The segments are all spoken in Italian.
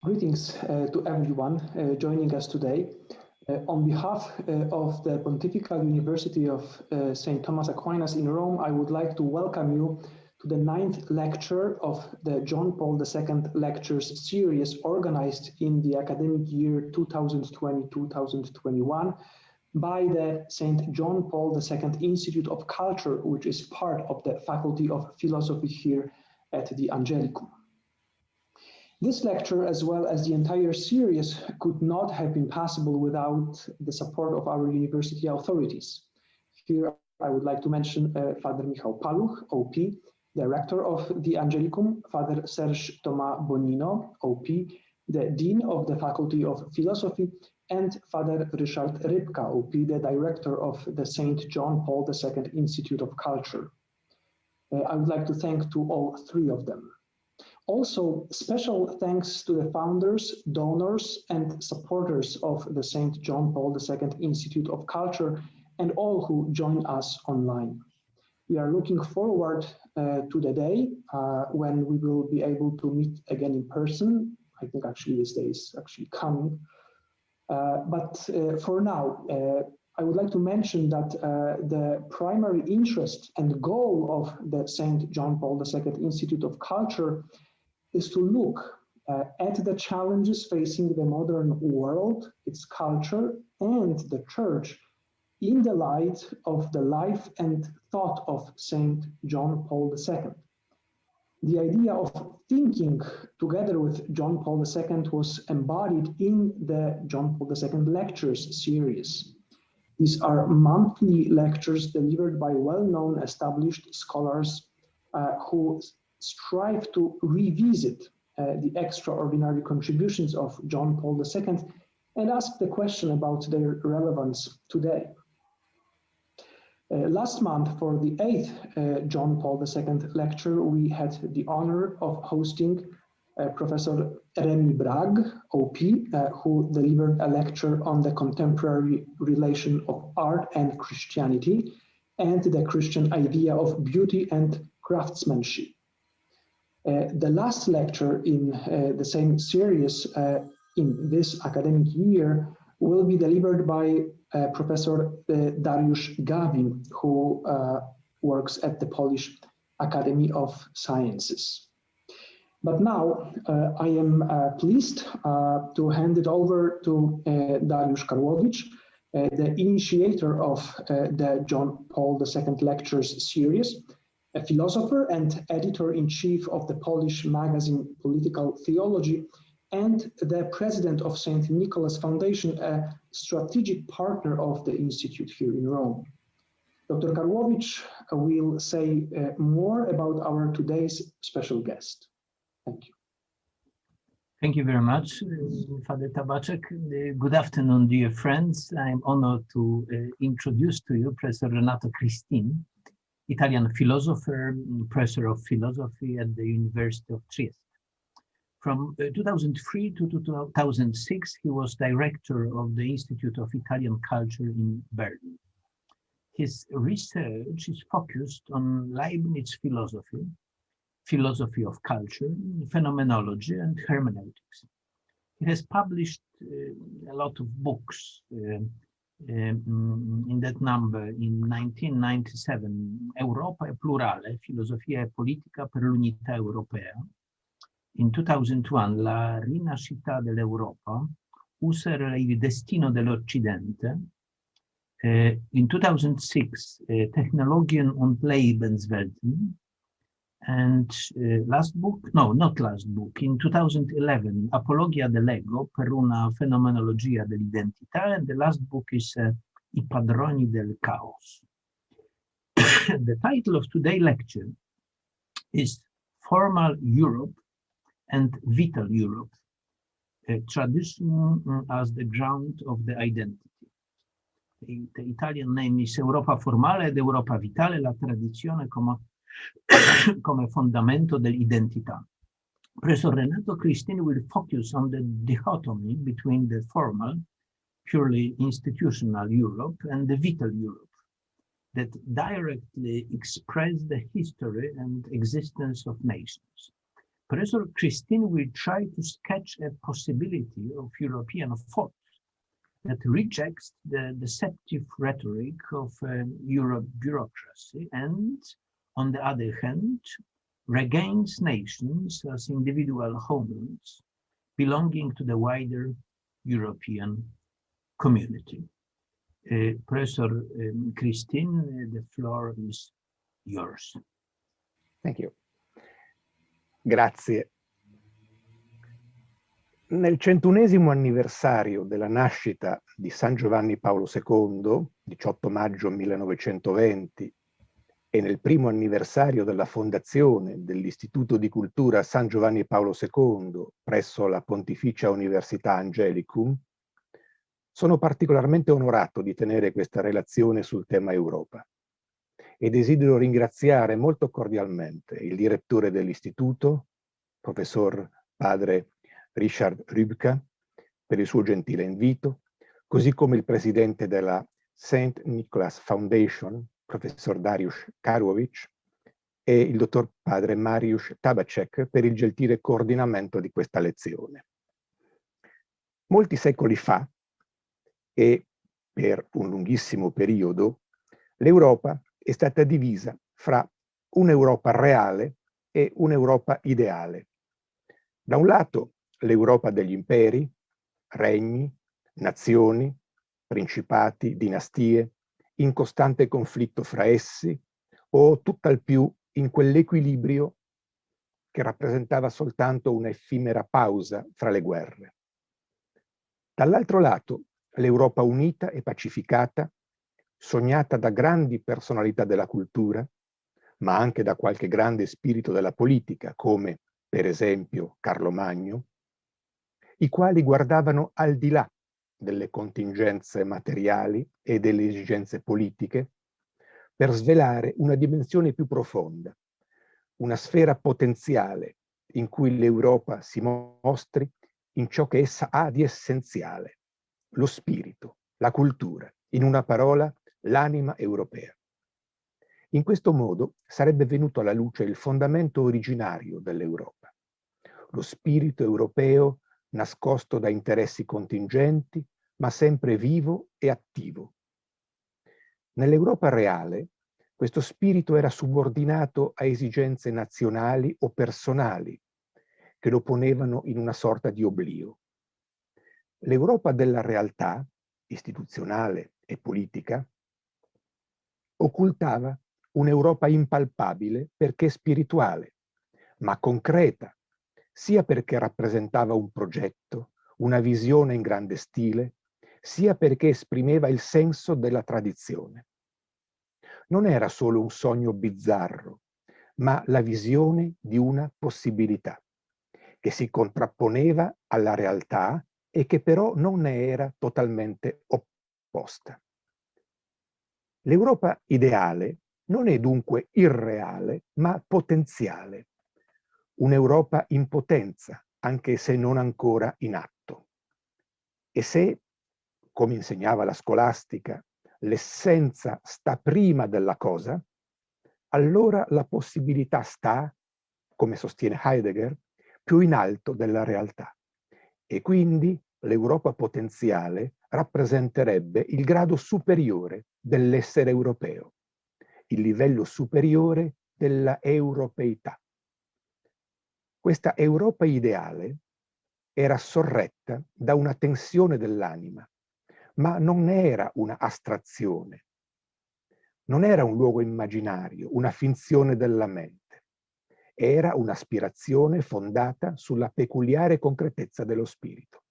Greetings to everyone joining us today. On behalf of the Pontifical University of St. Thomas Aquinas in Rome, I would like to welcome you to the 9th lecture of the John Paul II Lectures series organized in the academic year 2020-2021 by the St. John Paul II Institute of Culture, which is part of the Faculty of Philosophy here at the Angelicum. This lecture, as well as the entire series, could not have been possible without the support of our university authorities. Here, I would like to mention Father Michał Paluch, OP, Director of the Angelicum, Father Serge Thomas Bonino, OP, the Dean of the Faculty of Philosophy, and Father Ryszard Rybka, OP, the Director of the St. John Paul II Institute of Culture. I would like to thank to all three of them. Also, special thanks to the founders, donors, and supporters of the St. John Paul II Institute of Culture and all who join us online. We are looking forward to the day when we will be able to meet again in person. I think actually this day is actually coming. But for now, I would like to mention that the primary interest and goal of the St. John Paul II Institute of Culture is to look at the challenges facing the modern world, its culture, and the Church in the light of the life and thought of St. John Paul II. The idea of thinking together with John Paul II was embodied in the John Paul II Lectures series. These are monthly lectures delivered by well-known established scholars who strive to revisit the extraordinary contributions of John Paul II and ask the question about their relevance today. Last month, for the 8th John Paul II lecture, we had the honor of hosting Professor Remy Bragg, OP, who delivered a lecture on the contemporary relation of art and Christianity and the Christian idea of beauty and craftsmanship. The last lecture in the same series in this academic year will be delivered by Professor Dariusz Gawin, who works at the Polish Academy of Sciences. But now I am pleased to hand it over to Dariusz Karłowicz, the initiator of the John Paul II Lectures series, a philosopher and editor-in-chief of the Polish magazine Political Theology, and the president of St. Nicholas Foundation, a strategic partner of the Institute here in Rome. Dr. Karłowicz will say more about our today's special guest. Thank you. Thank you very much, Father Tabaczek. Good afternoon, dear friends. I'm honored to introduce to you Professor Renato Cristin, Italian philosopher, professor of philosophy at the University of Trieste. From 2003 to 2006, he was director of the Institute of Italian Culture in Berlin. His research is focused on Leibniz philosophy, philosophy of culture, phenomenology, and hermeneutics. He has published a lot of books. In that number, in 1997, Europa è plurale, filosofia e politica per l'unità europea. In 2001, La rinascita dell'Europa, Husserl e il destino dell'Occidente. In 2006, Technologien und Lebenswelten. And last book, no, not last book, in 2011, Apologia dell'Ego per una fenomenologia dell'identità, and the last book is I padroni del caos. The title of today's lecture is Formal Europe and Vital Europe, tradition as the ground of the identity. The Italian name is Europa Formale ed Europa Vitale, la tradizione come fondamento dell'identità. Professor Renato Cristin will focus on the dichotomy between the formal, purely institutional Europe and the vital Europe that directly express the history and existence of nations. Professor Christine will try to sketch a possibility of European thought that rejects the deceptive rhetoric of Euro bureaucracy and, on the other hand, regains nations as individual homelands belonging to the wider European community. Professor Christine, the floor is yours. Thank you. Grazie. Nel 101° anniversario della nascita di San Giovanni Paolo II, 18 maggio 1920, e nel primo anniversario della fondazione dell'Istituto di Cultura San Giovanni Paolo II presso la Pontificia Università Angelicum, sono particolarmente onorato di tenere questa relazione sul tema Europa e desidero ringraziare molto cordialmente il direttore dell'Istituto, professor padre Richard Rübker, per il suo gentile invito, così come il presidente della St. Nicholas Foundation, professor Dariusz Karłowicz, e il dottor padre Mariusz Tabacek per il gentile coordinamento di questa lezione. Molti secoli fa, e per un lunghissimo periodo, l'Europa è stata divisa fra un'Europa reale e un'Europa ideale. Da un lato l'Europa degli imperi, regni, nazioni, principati, dinastie, in costante conflitto fra essi, o tutt'al più in quell'equilibrio che rappresentava soltanto un'effimera pausa fra le guerre. Dall'altro lato, l'Europa unita e pacificata, sognata da grandi personalità della cultura, ma anche da qualche grande spirito della politica, come per esempio Carlo Magno, i quali guardavano al di là delle contingenze materiali e delle esigenze politiche per svelare una dimensione più profonda, una sfera potenziale in cui l'Europa si mostri in ciò che essa ha di essenziale, lo spirito, la cultura, in una parola, l'anima europea. In questo modo sarebbe venuto alla luce il fondamento originario dell'Europa, lo spirito europeo nascosto da interessi contingenti, ma sempre vivo e attivo. Nell'Europa reale, questo spirito era subordinato a esigenze nazionali o personali, che lo ponevano in una sorta di oblio. L'Europa della realtà, istituzionale e politica, occultava un'Europa impalpabile perché spirituale, ma concreta, sia perché rappresentava un progetto, una visione in grande stile, sia perché esprimeva il senso della tradizione. Non era solo un sogno bizzarro, ma la visione di una possibilità, che si contrapponeva alla realtà e che però non ne era totalmente opposta. L'Europa ideale non è dunque irreale, ma potenziale. Un'Europa in potenza, anche se non ancora in atto. E se, come insegnava la scolastica, l'essenza sta prima della cosa, allora la possibilità sta, come sostiene Heidegger, più in alto della realtà. E quindi l'Europa potenziale rappresenterebbe il grado superiore dell'essere europeo, il livello superiore della europeità. Questa Europa ideale era sorretta da una tensione dell'anima, ma non era una astrazione, non era un luogo immaginario, una finzione della mente, era un'aspirazione fondata sulla peculiare concretezza dello spirito.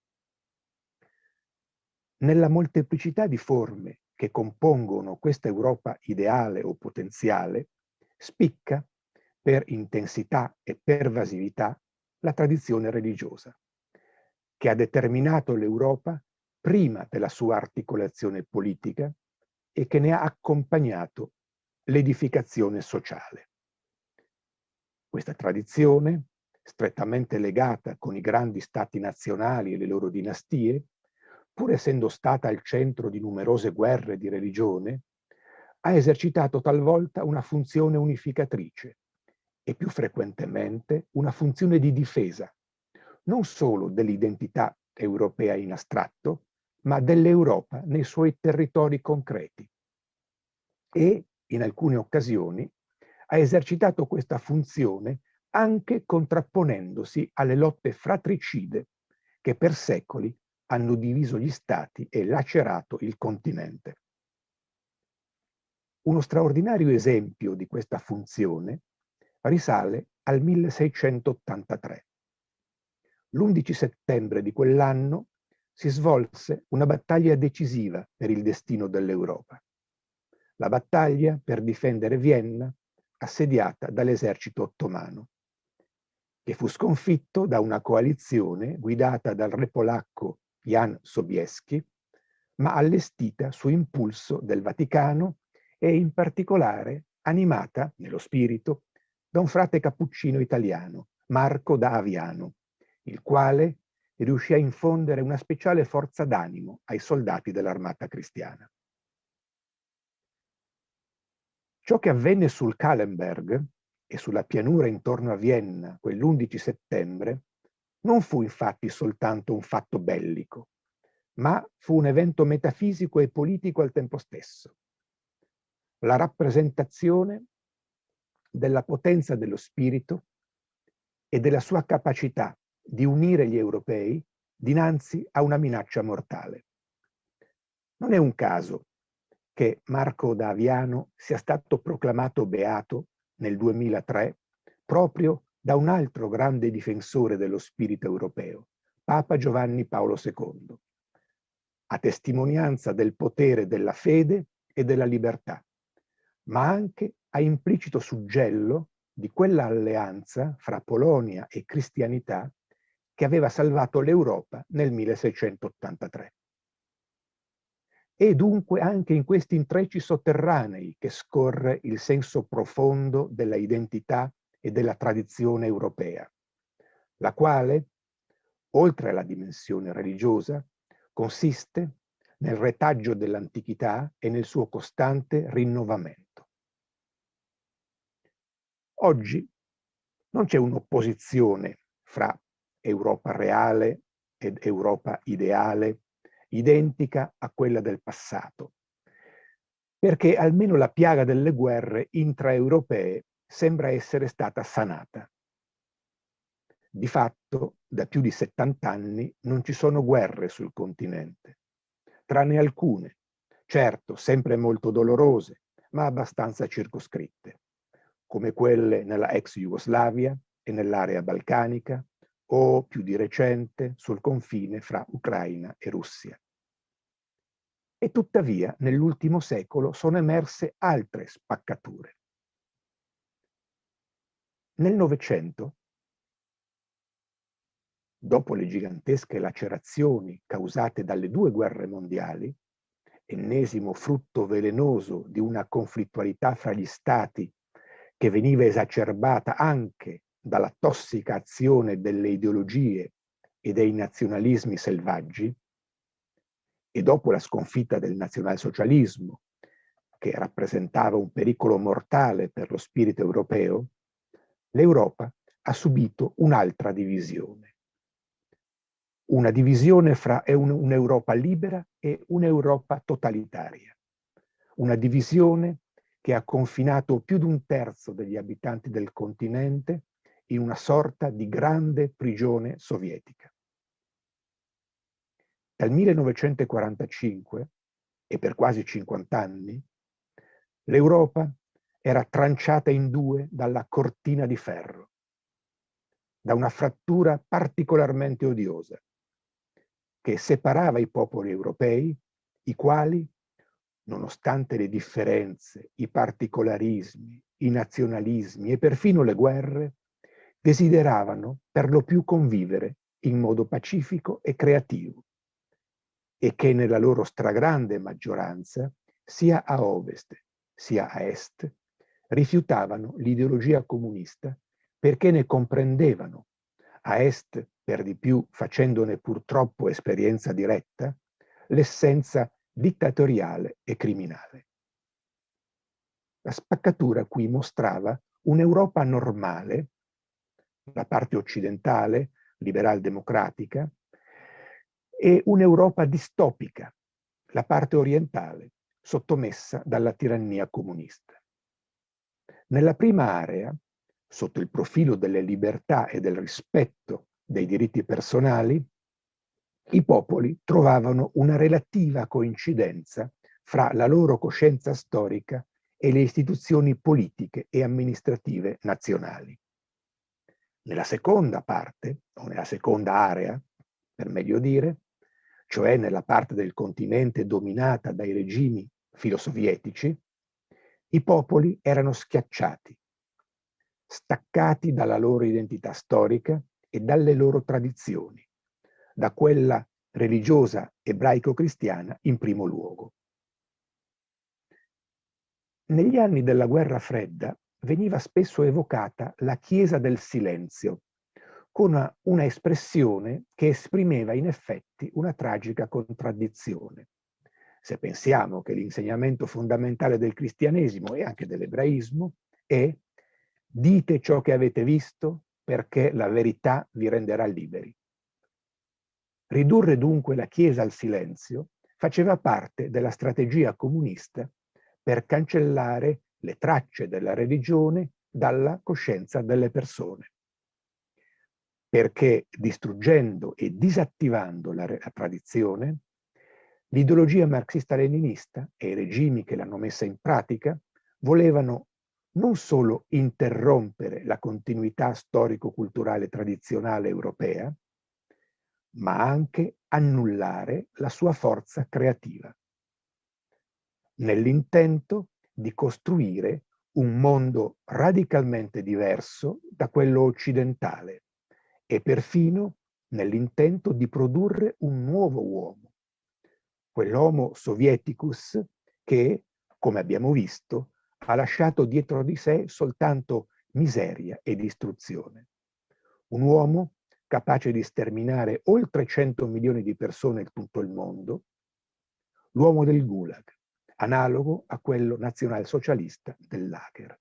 Nella molteplicità di forme che compongono questa Europa ideale o potenziale, spicca per intensità e pervasività la tradizione religiosa, che ha determinato l'Europa prima della sua articolazione politica e che ne ha accompagnato l'edificazione sociale. Questa tradizione, strettamente legata con i grandi stati nazionali e le loro dinastie, pur essendo stata al centro di numerose guerre di religione, ha esercitato talvolta una funzione unificatrice e più frequentemente una funzione di difesa, non solo dell'identità europea in astratto, ma dell'Europa nei suoi territori concreti. E, in alcune occasioni, ha esercitato questa funzione anche contrapponendosi alle lotte fratricide che per secoli hanno diviso gli stati e lacerato il continente. Uno straordinario esempio di questa funzione risale al 1683. L'11 settembre di quell'anno si svolse una battaglia decisiva per il destino dell'Europa. La battaglia per difendere Vienna, assediata dall'esercito ottomano, che fu sconfitto da una coalizione guidata dal re polacco Jan Sobieski, ma allestita su impulso del Vaticano e in particolare animata, nello spirito, da un frate cappuccino italiano, Marco da Aviano, il quale riuscì a infondere una speciale forza d'animo ai soldati dell'armata cristiana. Ciò che avvenne sul Kahlenberg e sulla pianura intorno a Vienna quell'11 settembre non fu infatti soltanto un fatto bellico, ma fu un evento metafisico e politico al tempo stesso. La rappresentazione della potenza dello spirito e della sua capacità di unire gli europei dinanzi a una minaccia mortale. Non è un caso che Marco da Aviano sia stato proclamato beato nel 2003 proprio da un altro grande difensore dello spirito europeo, Papa Giovanni Paolo II, a testimonianza del potere della fede e della libertà, ma anche a implicito suggello di quella alleanza fra Polonia e cristianità che aveva salvato l'Europa nel 1683. E dunque anche in questi intrecci sotterranei che scorre il senso profondo della identità e della tradizione europea, la quale, oltre alla dimensione religiosa, consiste nel retaggio dell'antichità e nel suo costante rinnovamento. Oggi non c'è un'opposizione fra Europa reale ed Europa ideale, identica a quella del passato, perché almeno la piaga delle guerre intraeuropee sembra essere stata sanata. Di fatto, da più di 70 anni non ci sono guerre sul continente, tranne alcune, certo sempre molto dolorose, ma abbastanza circoscritte, come quelle nella ex Jugoslavia e nell'area balcanica, o più di recente sul confine fra Ucraina e Russia. E tuttavia nell'ultimo secolo sono emerse altre spaccature. Nel Novecento, dopo le gigantesche lacerazioni causate dalle due guerre mondiali, ennesimo frutto velenoso di una conflittualità fra gli stati che veniva esacerbata anche dalla tossica azione delle ideologie e dei nazionalismi selvaggi, e dopo la sconfitta del nazionalsocialismo, che rappresentava un pericolo mortale per lo spirito europeo, l'Europa ha subito un'altra divisione. Una divisione fra un'Europa libera e un'Europa totalitaria. Una divisione che ha confinato più di un terzo degli abitanti del continente in una sorta di grande prigione sovietica. Dal 1945, e per quasi 50 anni, l'Europa era tranciata in due dalla cortina di ferro, da una frattura particolarmente odiosa, che separava i popoli europei, i quali, nonostante le differenze, i particolarismi, i nazionalismi e perfino le guerre, desideravano per lo più convivere in modo pacifico e creativo, e che nella loro stragrande maggioranza, sia a ovest sia a est, rifiutavano l'ideologia comunista perché ne comprendevano, a est per di più facendone purtroppo esperienza diretta, l'essenza dittatoriale e criminale. La spaccatura qui mostrava un'Europa normale, la parte occidentale, liberal-democratica, e un'Europa distopica, la parte orientale, sottomessa dalla tirannia comunista. Nella prima area, sotto il profilo delle libertà e del rispetto dei diritti personali, i popoli trovavano una relativa coincidenza fra la loro coscienza storica e le istituzioni politiche e amministrative nazionali. Nella seconda parte, o nella seconda area, per meglio dire, cioè nella parte del continente dominata dai regimi filosovietici, i popoli erano schiacciati, staccati dalla loro identità storica e dalle loro tradizioni, da quella religiosa ebraico-cristiana in primo luogo. Negli anni della Guerra Fredda veniva spesso evocata la Chiesa del silenzio, con una espressione che esprimeva in effetti una tragica contraddizione. Se pensiamo che l'insegnamento fondamentale del cristianesimo e anche dell'ebraismo è dite ciò che avete visto perché la verità vi renderà liberi. Ridurre dunque la Chiesa al silenzio faceva parte della strategia comunista per cancellare le tracce della religione dalla coscienza delle persone. Perché distruggendo e disattivando la tradizione, l'ideologia marxista-leninista e i regimi che l'hanno messa in pratica volevano non solo interrompere la continuità storico-culturale tradizionale europea, ma anche annullare la sua forza creativa, nell'intento di costruire un mondo radicalmente diverso da quello occidentale e perfino nell'intento di produrre un nuovo uomo, quell'Homo Sovieticus che, come abbiamo visto, ha lasciato dietro di sé soltanto miseria e distruzione. Un uomo capace di sterminare oltre 100 milioni di persone in tutto il mondo, l'uomo del Gulag, analogo a quello nazionalsocialista del Lager.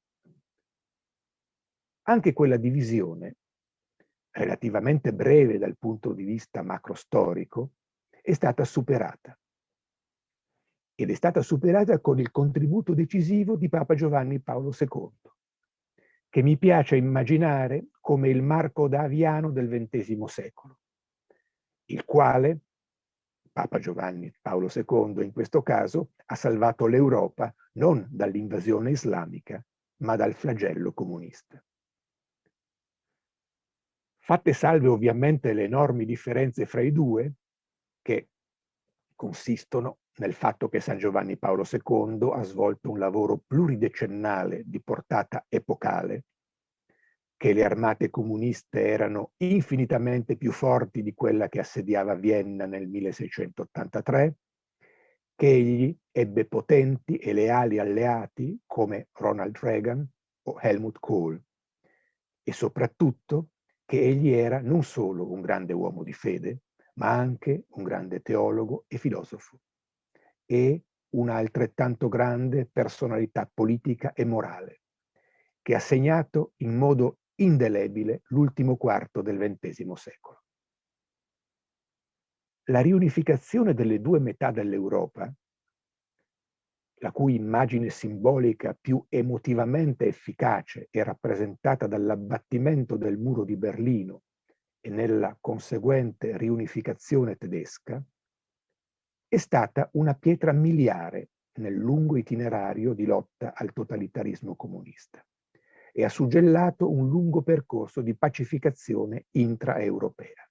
Anche quella divisione, relativamente breve dal punto di vista macrostorico, è stata superata. Ed è stata superata con il contributo decisivo di Papa Giovanni Paolo II, che mi piace immaginare come il Marco Daviano del XX secolo, il quale, Papa Giovanni Paolo II in questo caso, ha salvato l'Europa non dall'invasione islamica, ma dal flagello comunista. Fatte salve ovviamente le enormi differenze fra i due, che consistono nel fatto che San Giovanni Paolo II ha svolto un lavoro pluridecennale di portata epocale, che le armate comuniste erano infinitamente più forti di quella che assediava Vienna nel 1683, che egli ebbe potenti e leali alleati come Ronald Reagan o Helmut Kohl, e soprattutto che egli era non solo un grande uomo di fede, ma anche un grande teologo e filosofo, e una altrettanto grande personalità politica e morale, che ha segnato in modo indelebile l'ultimo quarto del XX secolo. La riunificazione delle due metà dell'Europa, la cui immagine simbolica più emotivamente efficace è rappresentata dall'abbattimento del muro di Berlino e nella conseguente riunificazione tedesca, è stata una pietra miliare nel lungo itinerario di lotta al totalitarismo comunista e ha suggellato un lungo percorso di pacificazione intraeuropea.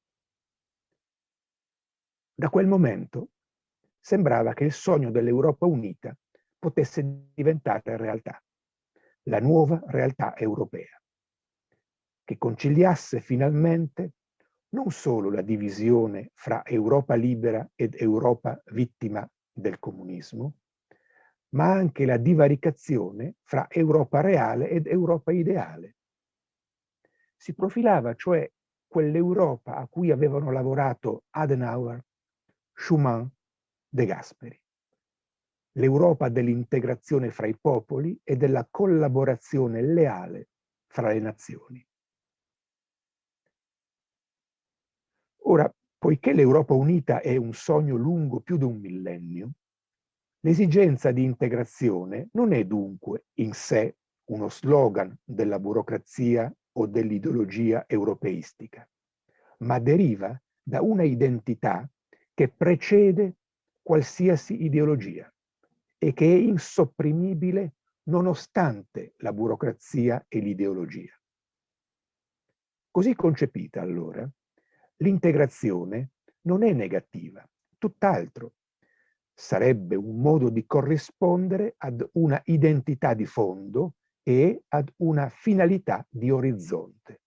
Da quel momento sembrava che il sogno dell'Europa unita potesse diventare realtà, la nuova realtà europea, che conciliasse finalmente non solo la divisione fra Europa libera ed Europa vittima del comunismo, ma anche la divaricazione fra Europa reale ed Europa ideale. Si profilava cioè quell'Europa a cui avevano lavorato Adenauer, Schuman, De Gasperi. l'Europa dell'integrazione fra i popoli e della collaborazione leale fra le nazioni. Ora, poiché l'Europa unita è un sogno lungo più di un millennio, l'esigenza di integrazione non è dunque in sé uno slogan della burocrazia o dell'ideologia europeistica, ma deriva da una identità che precede qualsiasi ideologia e che è insopprimibile nonostante la burocrazia e l'ideologia. Così concepita, allora, l'integrazione non è negativa, tutt'altro. Sarebbe un modo di corrispondere ad una identità di fondo e ad una finalità di orizzonte.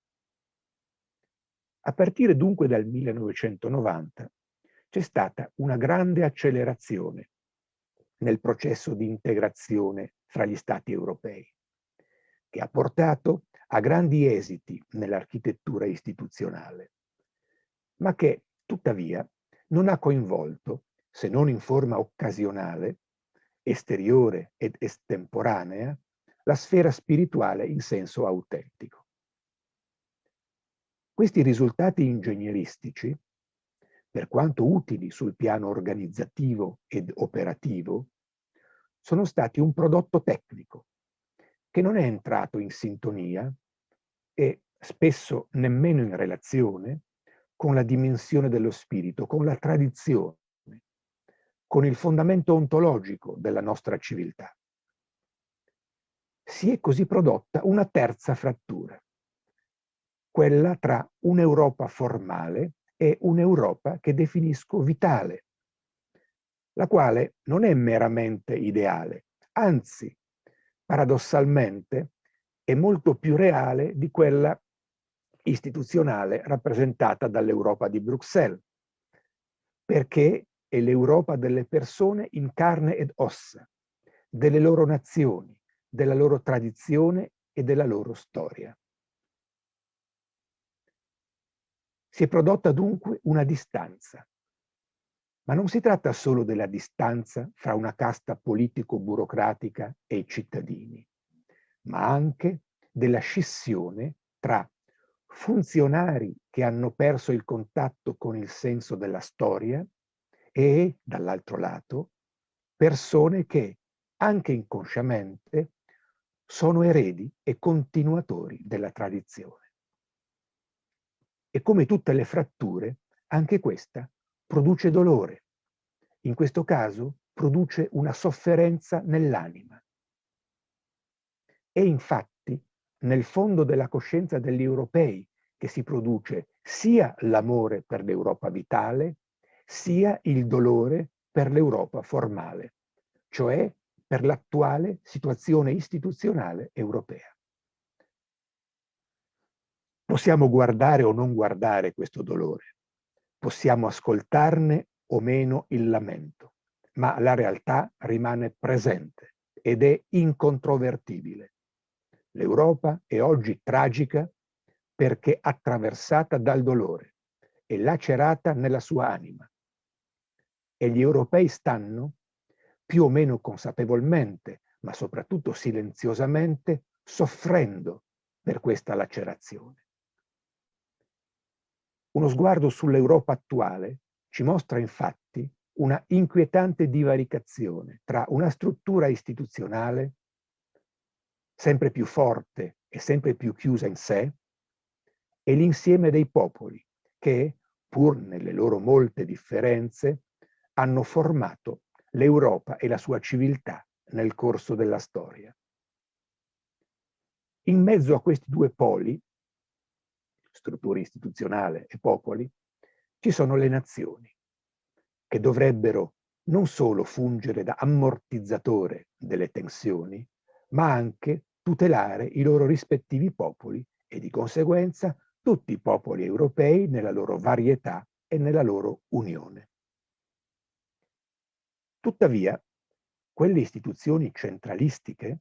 A partire dunque dal 1990 c'è stata una grande accelerazione nel processo di integrazione fra gli Stati europei, che ha portato a grandi esiti nell'architettura istituzionale, ma che tuttavia non ha coinvolto, se non in forma occasionale, esteriore ed estemporanea, la sfera spirituale in senso autentico. Questi risultati ingegneristici, per quanto utili sul piano organizzativo ed operativo, sono stati un prodotto tecnico che non è entrato in sintonia e spesso nemmeno in relazione con la dimensione dello spirito, con la tradizione, con il fondamento ontologico della nostra civiltà. Si è così prodotta una terza frattura, quella tra un'Europa formale e un'Europa che definisco vitale, la quale non è meramente ideale, anzi, paradossalmente, è molto più reale di quella istituzionale rappresentata dall'Europa di Bruxelles, perché è l'Europa delle persone in carne ed ossa, delle loro nazioni, della loro tradizione e della loro storia. Si è prodotta dunque una distanza, ma non si tratta solo della distanza fra una casta politico-burocratica e i cittadini, ma anche della scissione tra funzionari che hanno perso il contatto con il senso della storia e, dall'altro lato, persone che, anche inconsciamente, sono eredi e continuatori della tradizione. E come tutte le fratture, anche questa produce dolore. In questo caso produce una sofferenza nell'anima. È infatti nel fondo della coscienza degli europei che si produce sia l'amore per l'Europa vitale, sia il dolore per l'Europa formale, cioè per l'attuale situazione istituzionale europea. Possiamo guardare o non guardare questo dolore, possiamo ascoltarne o meno il lamento, ma la realtà rimane presente ed è incontrovertibile. L'Europa è oggi tragica perché attraversata dal dolore e lacerata nella sua anima. E gli europei stanno, più o meno consapevolmente, ma soprattutto silenziosamente, soffrendo per questa lacerazione. Uno sguardo sull'Europa attuale ci mostra infatti una inquietante divaricazione tra una struttura istituzionale sempre più forte e sempre più chiusa in sé e l'insieme dei popoli che, pur nelle loro molte differenze, hanno formato l'Europa e la sua civiltà nel corso della storia. In mezzo a questi due poli, struttura istituzionale e popoli, ci sono le nazioni, che dovrebbero non solo fungere da ammortizzatore delle tensioni, ma anche tutelare i loro rispettivi popoli e di conseguenza tutti i popoli europei nella loro varietà e nella loro unione. Tuttavia, quelle istituzioni centralistiche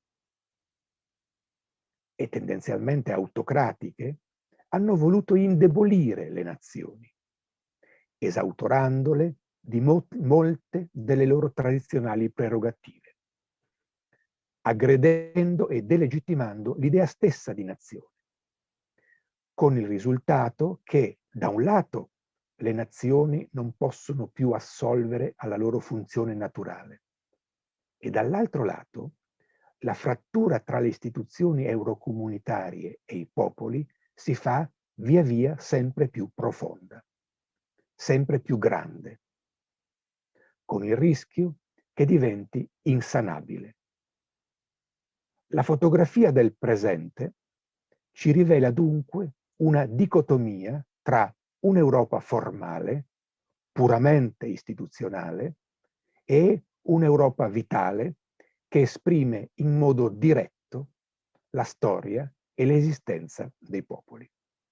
e tendenzialmente autocratiche hanno voluto indebolire le nazioni, esautorandole di molte delle loro tradizionali prerogative, aggredendo e delegittimando l'idea stessa di nazione, con il risultato che, da un lato, le nazioni non possono più assolvere alla loro funzione naturale e dall'altro lato la frattura tra le istituzioni eurocomunitarie e i popoli si fa via via sempre più profonda, sempre più grande, con il rischio che diventi insanabile. La fotografia del presente ci rivela dunque una dicotomia tra un'Europa formale, puramente istituzionale, e un'Europa vitale che esprime in modo diretto la storia e l'esistenza dei popoli.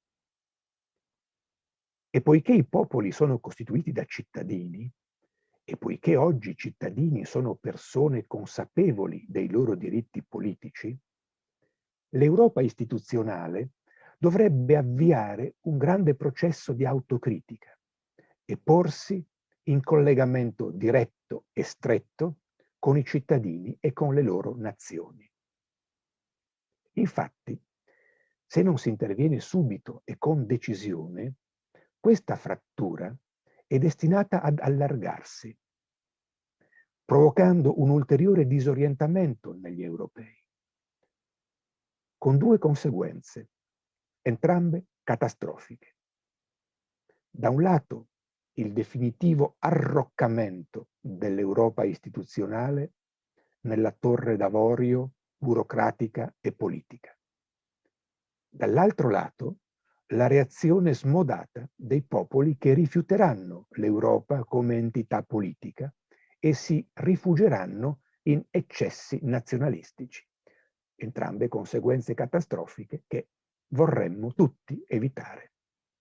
E poiché i popoli sono costituiti da cittadini, e poiché oggi i cittadini sono persone consapevoli dei loro diritti politici, l'Europa istituzionale dovrebbe avviare un grande processo di autocritica e porsi in collegamento diretto e stretto con i cittadini e con le loro nazioni. Infatti, se non si interviene subito e con decisione, questa frattura è destinata ad allargarsi, provocando un ulteriore disorientamento negli europei, con due conseguenze, entrambe catastrofiche. Da un lato, il definitivo arroccamento dell'Europa istituzionale nella torre d'avorio burocratica e politica. Dall'altro lato, la reazione smodata dei popoli che rifiuteranno l'Europa come entità politica e si rifugieranno in eccessi nazionalistici, entrambe conseguenze catastrofiche che vorremmo tutti evitare.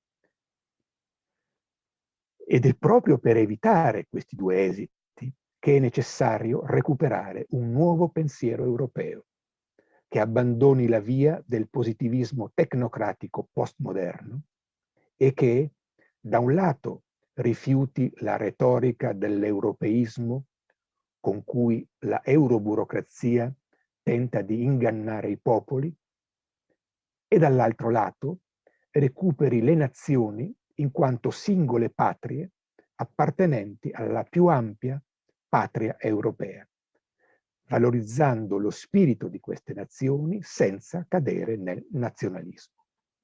Ed è proprio per evitare questi due esiti che è necessario recuperare un nuovo pensiero europeo, che abbandoni la via del positivismo tecnocratico postmoderno e che, da un lato, rifiuti la retorica dell'europeismo con cui la euroburocrazia tenta di ingannare i popoli e dall'altro lato recuperi le nazioni in quanto singole patrie appartenenti alla più ampia patria europea, valorizzando lo spirito di queste nazioni senza cadere nel nazionalismo.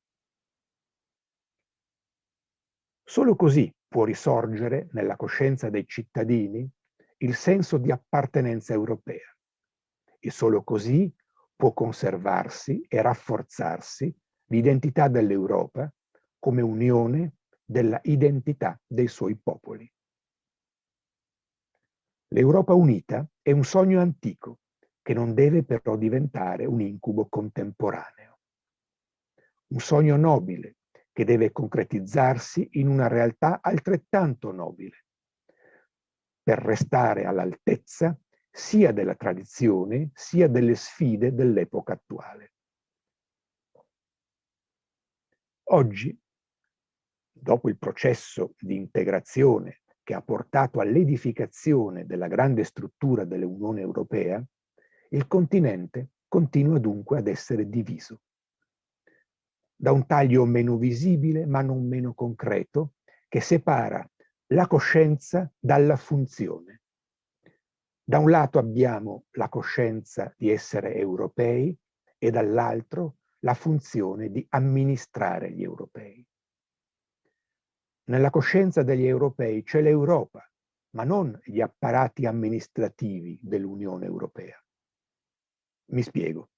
Solo così può risorgere nella coscienza dei cittadini il senso di appartenenza europea e solo così può conservarsi e rafforzarsi l'identità dell'Europa come unione della identità dei suoi popoli. L'Europa unita è un sogno antico che non deve però diventare un incubo contemporaneo. Un sogno nobile che deve concretizzarsi in una realtà altrettanto nobile, per restare all'altezza sia della tradizione sia delle sfide dell'epoca attuale. Oggi, dopo il processo di integrazione che ha portato all'edificazione della grande struttura dell'Unione Europea, il continente continua dunque ad essere diviso. Da un taglio meno visibile ma non meno concreto che separa la coscienza dalla funzione. Da un lato abbiamo la coscienza di essere europei e dall'altro la funzione di amministrare gli europei. Nella coscienza degli europei c'è l'Europa, ma non gli apparati amministrativi dell'Unione Europea. Mi spiego.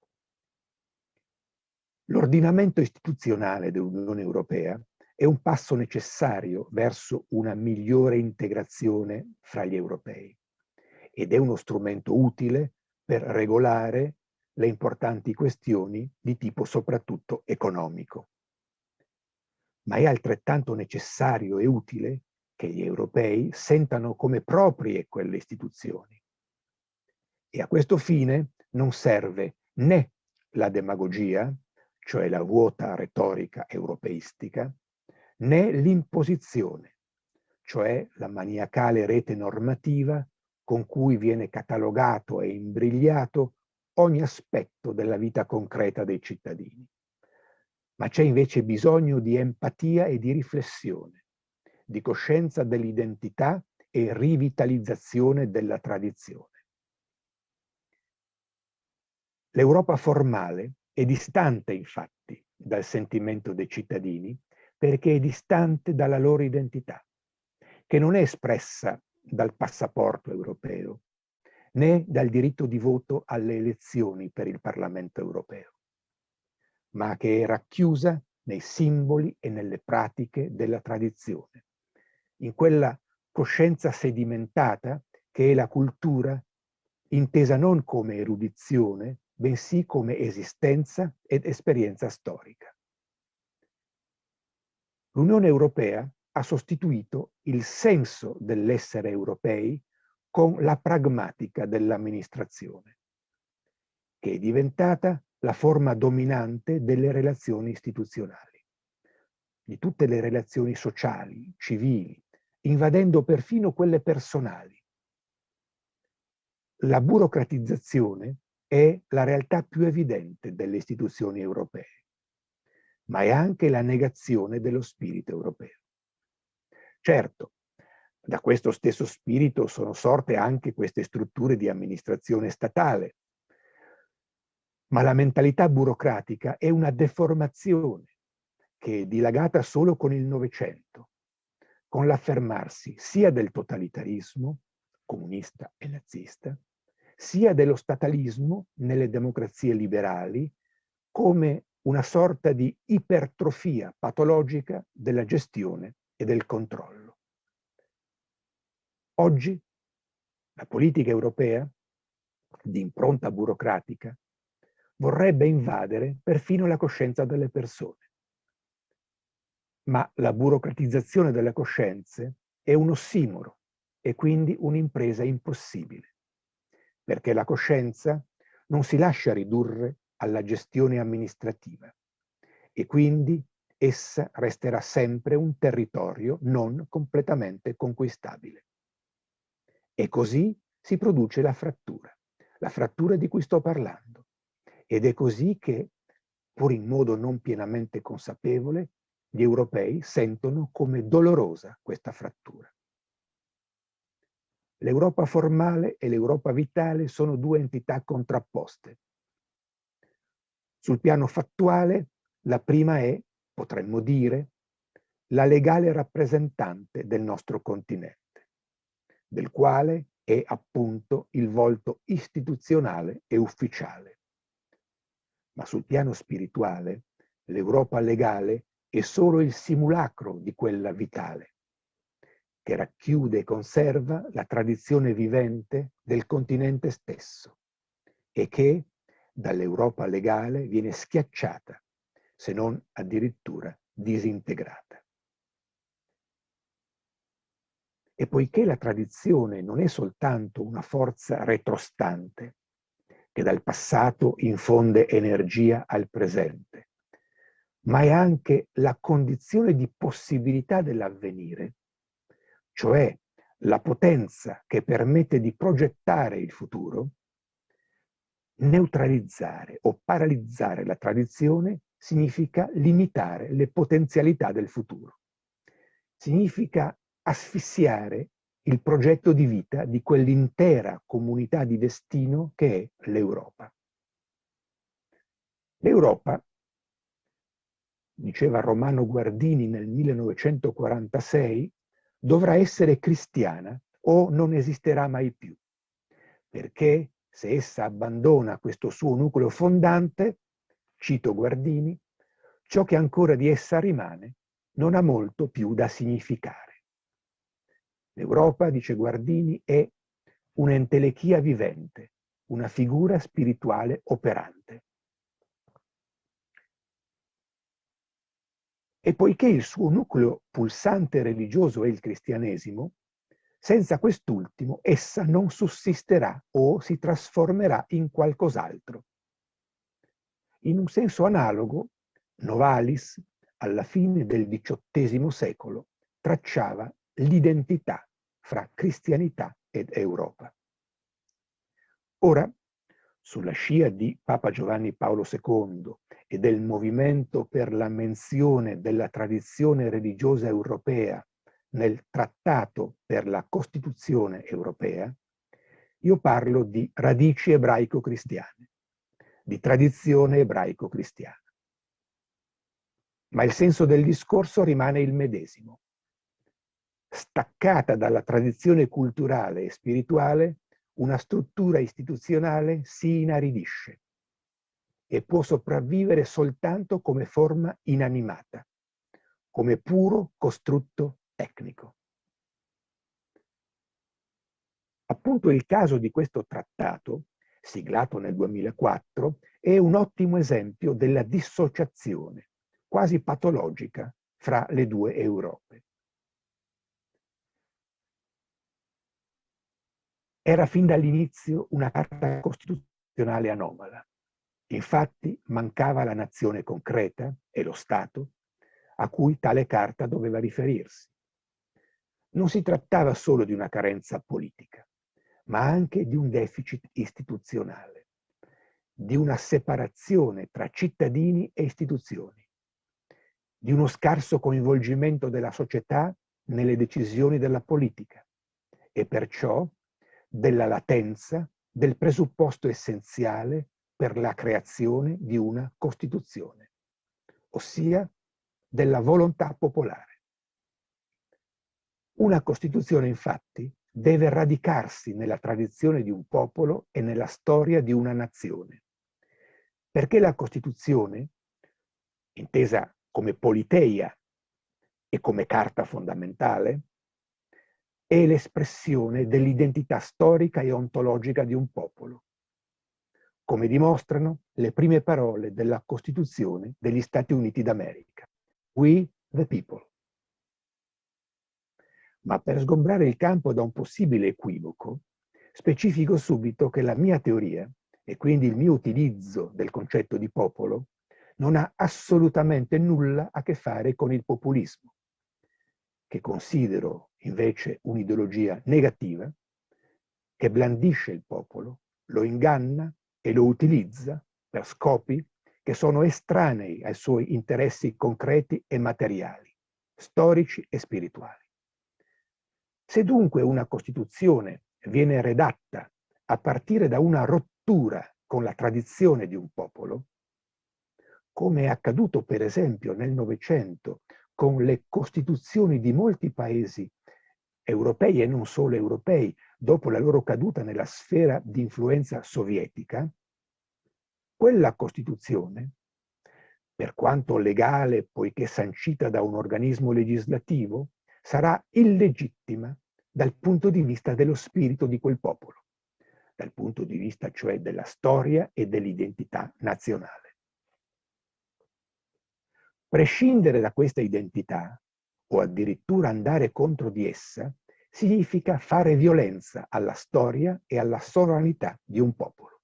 L'ordinamento istituzionale dell'Unione Europea è un passo necessario verso una migliore integrazione fra gli europei ed è uno strumento utile per regolare le importanti questioni di tipo soprattutto economico. Ma è altrettanto necessario e utile che gli europei sentano come proprie quelle istituzioni. E a questo fine non serve né la demagogia, cioè la vuota retorica europeistica, né l'imposizione, cioè la maniacale rete normativa con cui viene catalogato e imbrigliato ogni aspetto della vita concreta dei cittadini. Ma c'è invece bisogno di empatia e di riflessione, di coscienza dell'identità e rivitalizzazione della tradizione. L'Europa formale è distante, infatti, dal sentimento dei cittadini perché è distante dalla loro identità, che non è espressa dal passaporto europeo, né dal diritto di voto alle elezioni per il Parlamento europeo, ma che è racchiusa nei simboli e nelle pratiche della tradizione, in quella coscienza sedimentata che è la cultura, intesa non come erudizione, bensì come esistenza ed esperienza storica. L'Unione Europea ha sostituito il senso dell'essere europei con la pragmatica dell'amministrazione, che è diventata la forma dominante delle relazioni istituzionali, di tutte le relazioni sociali, civili, invadendo perfino quelle personali. La burocratizzazione è la realtà più evidente delle istituzioni europee, ma è anche la negazione dello spirito europeo. Certo, da questo stesso spirito sono sorte anche queste strutture di amministrazione statale, ma la mentalità burocratica è una deformazione che è dilagata solo con il Novecento, con l'affermarsi sia del totalitarismo, comunista e nazista, sia dello statalismo nelle democrazie liberali come una sorta di ipertrofia patologica della gestione e del controllo. Oggi la politica europea, di impronta burocratica, vorrebbe invadere perfino la coscienza delle persone. Ma la burocratizzazione delle coscienze è un ossimoro e quindi un'impresa impossibile, perché la coscienza non si lascia ridurre alla gestione amministrativa e quindi essa resterà sempre un territorio non completamente conquistabile. E così si produce la frattura di cui sto parlando. Ed è così che, pur in modo non pienamente consapevole, gli europei sentono come dolorosa questa frattura. L'Europa formale e l'Europa vitale sono due entità contrapposte. Sul piano fattuale, la prima è, potremmo dire, la legale rappresentante del nostro continente, del quale è appunto il volto istituzionale e ufficiale. Ma sul piano spirituale, l'Europa legale è solo il simulacro di quella vitale, che racchiude e conserva la tradizione vivente del continente stesso e che dall'Europa legale viene schiacciata, se non addirittura disintegrata. E poiché la tradizione non è soltanto una forza retrostante, che dal passato infonde energia al presente, ma è anche la condizione di possibilità dell'avvenire, cioè la potenza che permette di progettare il futuro. Neutralizzare o paralizzare la tradizione significa limitare le potenzialità del futuro. Significa asfissiare il progetto di vita di quell'intera comunità di destino che è l'Europa. L'Europa, diceva Romano Guardini nel 1946, dovrà essere cristiana o non esisterà mai più, perché se essa abbandona questo suo nucleo fondante, cito Guardini, ciò che ancora di essa rimane non ha molto più da significare. L'Europa, dice Guardini, è un'entelechia vivente, una figura spirituale operante. E poiché il suo nucleo pulsante religioso è il cristianesimo, senza quest'ultimo essa non sussisterà o si trasformerà in qualcos'altro. In un senso analogo, Novalis, alla fine del XVIII secolo, tracciava l'identità fra cristianità ed Europa. Ora, sulla scia di Papa Giovanni Paolo II e del movimento per la menzione della tradizione religiosa europea nel Trattato per la Costituzione europea, io parlo di radici ebraico-cristiane, di tradizione ebraico-cristiana. Ma il senso del discorso rimane il medesimo. Staccata dalla tradizione culturale e spirituale, una struttura istituzionale si inaridisce e può sopravvivere soltanto come forma inanimata, come puro costrutto tecnico. Appunto il caso di questo trattato, siglato nel 2004, è un ottimo esempio della dissociazione, quasi patologica, fra le due Europe. Era fin dall'inizio una carta costituzionale anomala. Infatti mancava la nazione concreta e lo Stato a cui tale carta doveva riferirsi. Non si trattava solo di una carenza politica, ma anche di un deficit istituzionale, di una separazione tra cittadini e istituzioni, di uno scarso coinvolgimento della società nelle decisioni della politica e perciò della latenza del presupposto essenziale per la creazione di una Costituzione, ossia della volontà popolare. Una Costituzione, infatti, deve radicarsi nella tradizione di un popolo e nella storia di una nazione, perché la Costituzione, intesa come politeia e come carta fondamentale, è l'espressione dell'identità storica e ontologica di un popolo, come dimostrano le prime parole della Costituzione degli Stati Uniti d'America. We the people. Ma per sgombrare il campo da un possibile equivoco, specifico subito che la mia teoria, e quindi il mio utilizzo del concetto di popolo, non ha assolutamente nulla a che fare con il populismo, che considero invece un'ideologia negativa, che blandisce il popolo, lo inganna e lo utilizza per scopi che sono estranei ai suoi interessi concreti e materiali, storici e spirituali. Se dunque una Costituzione viene redatta a partire da una rottura con la tradizione di un popolo, come è accaduto per esempio nel Novecento con le costituzioni di molti paesi europei e non solo europei, dopo la loro caduta nella sfera di influenza sovietica, quella Costituzione, per quanto legale poiché sancita da un organismo legislativo, sarà illegittima dal punto di vista dello spirito di quel popolo, dal punto di vista cioè della storia e dell'identità nazionale. Prescindere da questa identità, o addirittura andare contro di essa, significa fare violenza alla storia e alla sovranità di un popolo.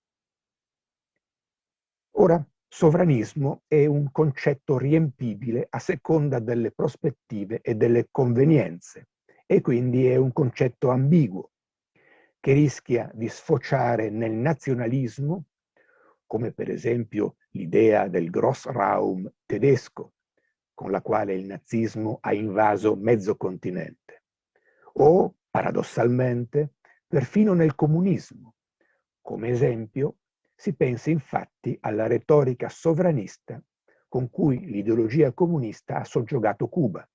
Ora, sovranismo è un concetto riempibile a seconda delle prospettive e delle convenienze, e quindi è un concetto ambiguo, che rischia di sfociare nel nazionalismo, come per esempio l'idea del Grossraum tedesco, con la quale il nazismo ha invaso mezzo continente, o, paradossalmente, perfino nel comunismo. Come esempio, si pensa infatti alla retorica sovranista con cui l'ideologia comunista ha soggiogato Cuba.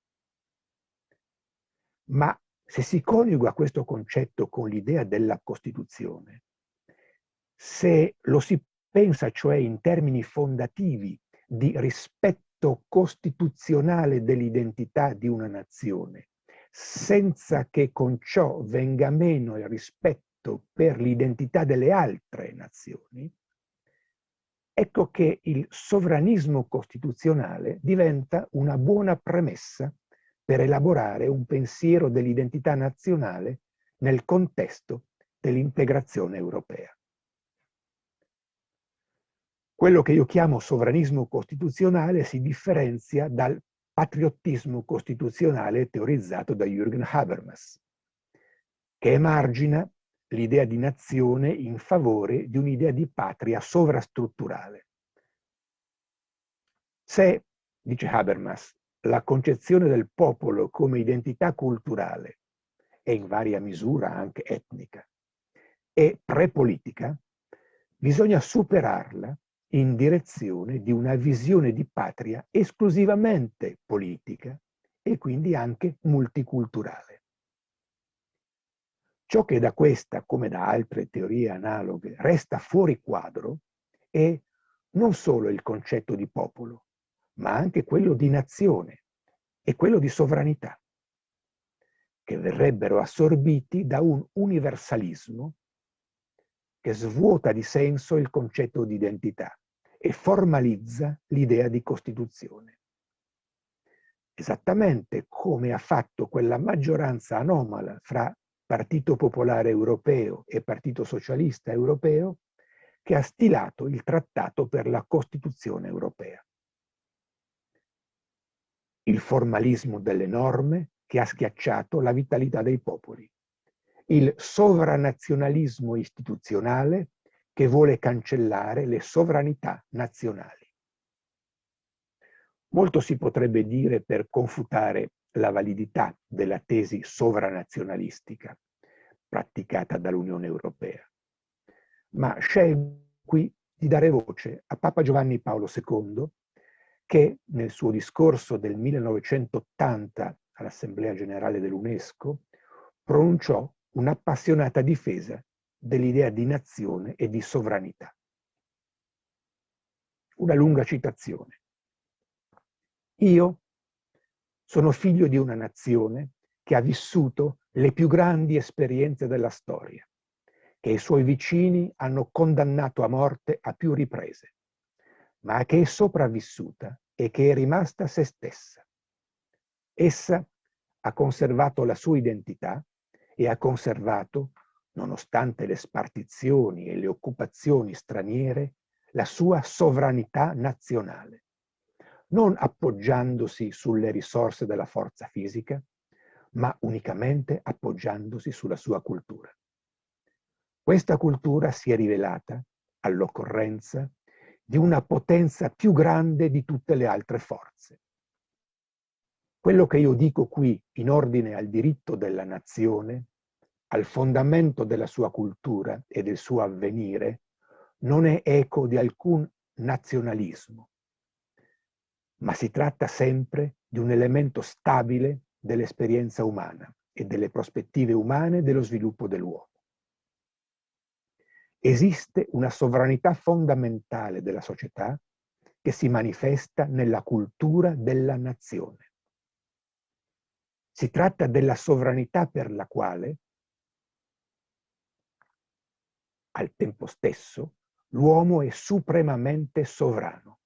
Ma se si coniuga questo concetto con l'idea della Costituzione, se lo si pensa cioè in termini fondativi di rispetto costituzionale dell'identità di una nazione, senza che con ciò venga meno il rispetto per l'identità delle altre nazioni, ecco che il sovranismo costituzionale diventa una buona premessa per elaborare un pensiero dell'identità nazionale nel contesto dell'integrazione europea. Quello che io chiamo sovranismo costituzionale si differenzia dal patriottismo costituzionale teorizzato da Jürgen Habermas, che emargina l'idea di nazione in favore di un'idea di patria sovrastrutturale. Se, dice Habermas, la concezione del popolo come identità culturale e in varia misura anche etnica è prepolitica, bisogna superarla in direzione di una visione di patria esclusivamente politica e quindi anche multiculturale. Ciò che da questa, come da altre teorie analoghe, resta fuori quadro è non solo il concetto di popolo, ma anche quello di nazione e quello di sovranità, che verrebbero assorbiti da un universalismo che svuota di senso il concetto di identità e formalizza l'idea di Costituzione. Esattamente come ha fatto quella maggioranza anomala fra Partito Popolare Europeo e Partito Socialista Europeo che ha stilato il Trattato per la Costituzione Europea. Il formalismo delle norme che ha schiacciato la vitalità dei popoli. Il sovranazionalismo istituzionale che vuole cancellare le sovranità nazionali. Molto si potrebbe dire per confutare la validità della tesi sovranazionalistica praticata dall'Unione Europea, ma scelgo qui di dare voce a Papa Giovanni Paolo II, che nel suo discorso del 1980 all'Assemblea Generale dell'UNESCO pronunciò un'appassionata difesa dell'idea di nazione e di sovranità. Una lunga citazione. Io sono figlio di una nazione che ha vissuto le più grandi esperienze della storia, che i suoi vicini hanno condannato a morte a più riprese, ma che è sopravvissuta e che è rimasta se stessa. Essa ha conservato la sua identità e ha conservato, nonostante le spartizioni e le occupazioni straniere, la sua sovranità nazionale, non appoggiandosi sulle risorse della forza fisica, ma unicamente appoggiandosi sulla sua cultura. Questa cultura si è rivelata, all'occorrenza, di una potenza più grande di tutte le altre forze. Quello che io dico qui in ordine al diritto della nazione, al fondamento della sua cultura e del suo avvenire, non è eco di alcun nazionalismo, ma si tratta sempre di un elemento stabile dell'esperienza umana e delle prospettive umane dello sviluppo dell'uomo. Esiste una sovranità fondamentale della società che si manifesta nella cultura della nazione. Si tratta della sovranità per la quale, al tempo stesso, l'uomo è supremamente sovrano.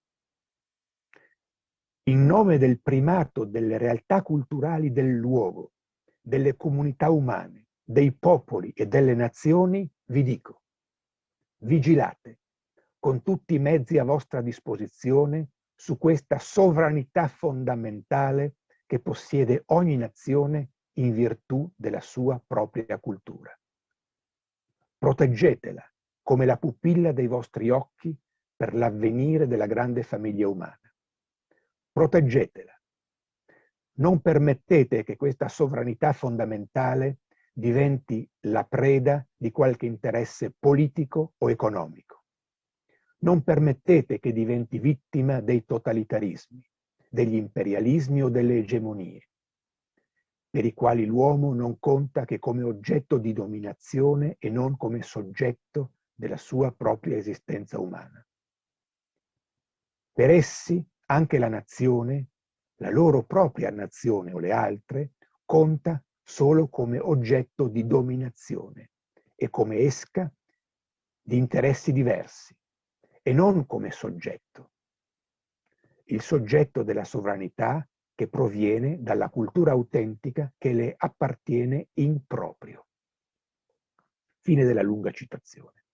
In nome del primato delle realtà culturali del luogo, delle comunità umane, dei popoli e delle nazioni, vi dico: vigilate con tutti i mezzi a vostra disposizione su questa sovranità fondamentale che possiede ogni nazione in virtù della sua propria cultura. Proteggetela come la pupilla dei vostri occhi per l'avvenire della grande famiglia umana. Proteggetela. Non permettete che questa sovranità fondamentale diventi la preda di qualche interesse politico o economico. Non permettete che diventi vittima dei totalitarismi, degli imperialismi o delle egemonie, per i quali l'uomo non conta che come oggetto di dominazione e non come soggetto della sua propria esistenza umana. Per essi anche la nazione, la loro propria nazione o le altre, conta solo come oggetto di dominazione e come esca di interessi diversi e non come soggetto. Il soggetto della sovranità che proviene dalla cultura autentica che le appartiene in proprio. Fine della lunga citazione.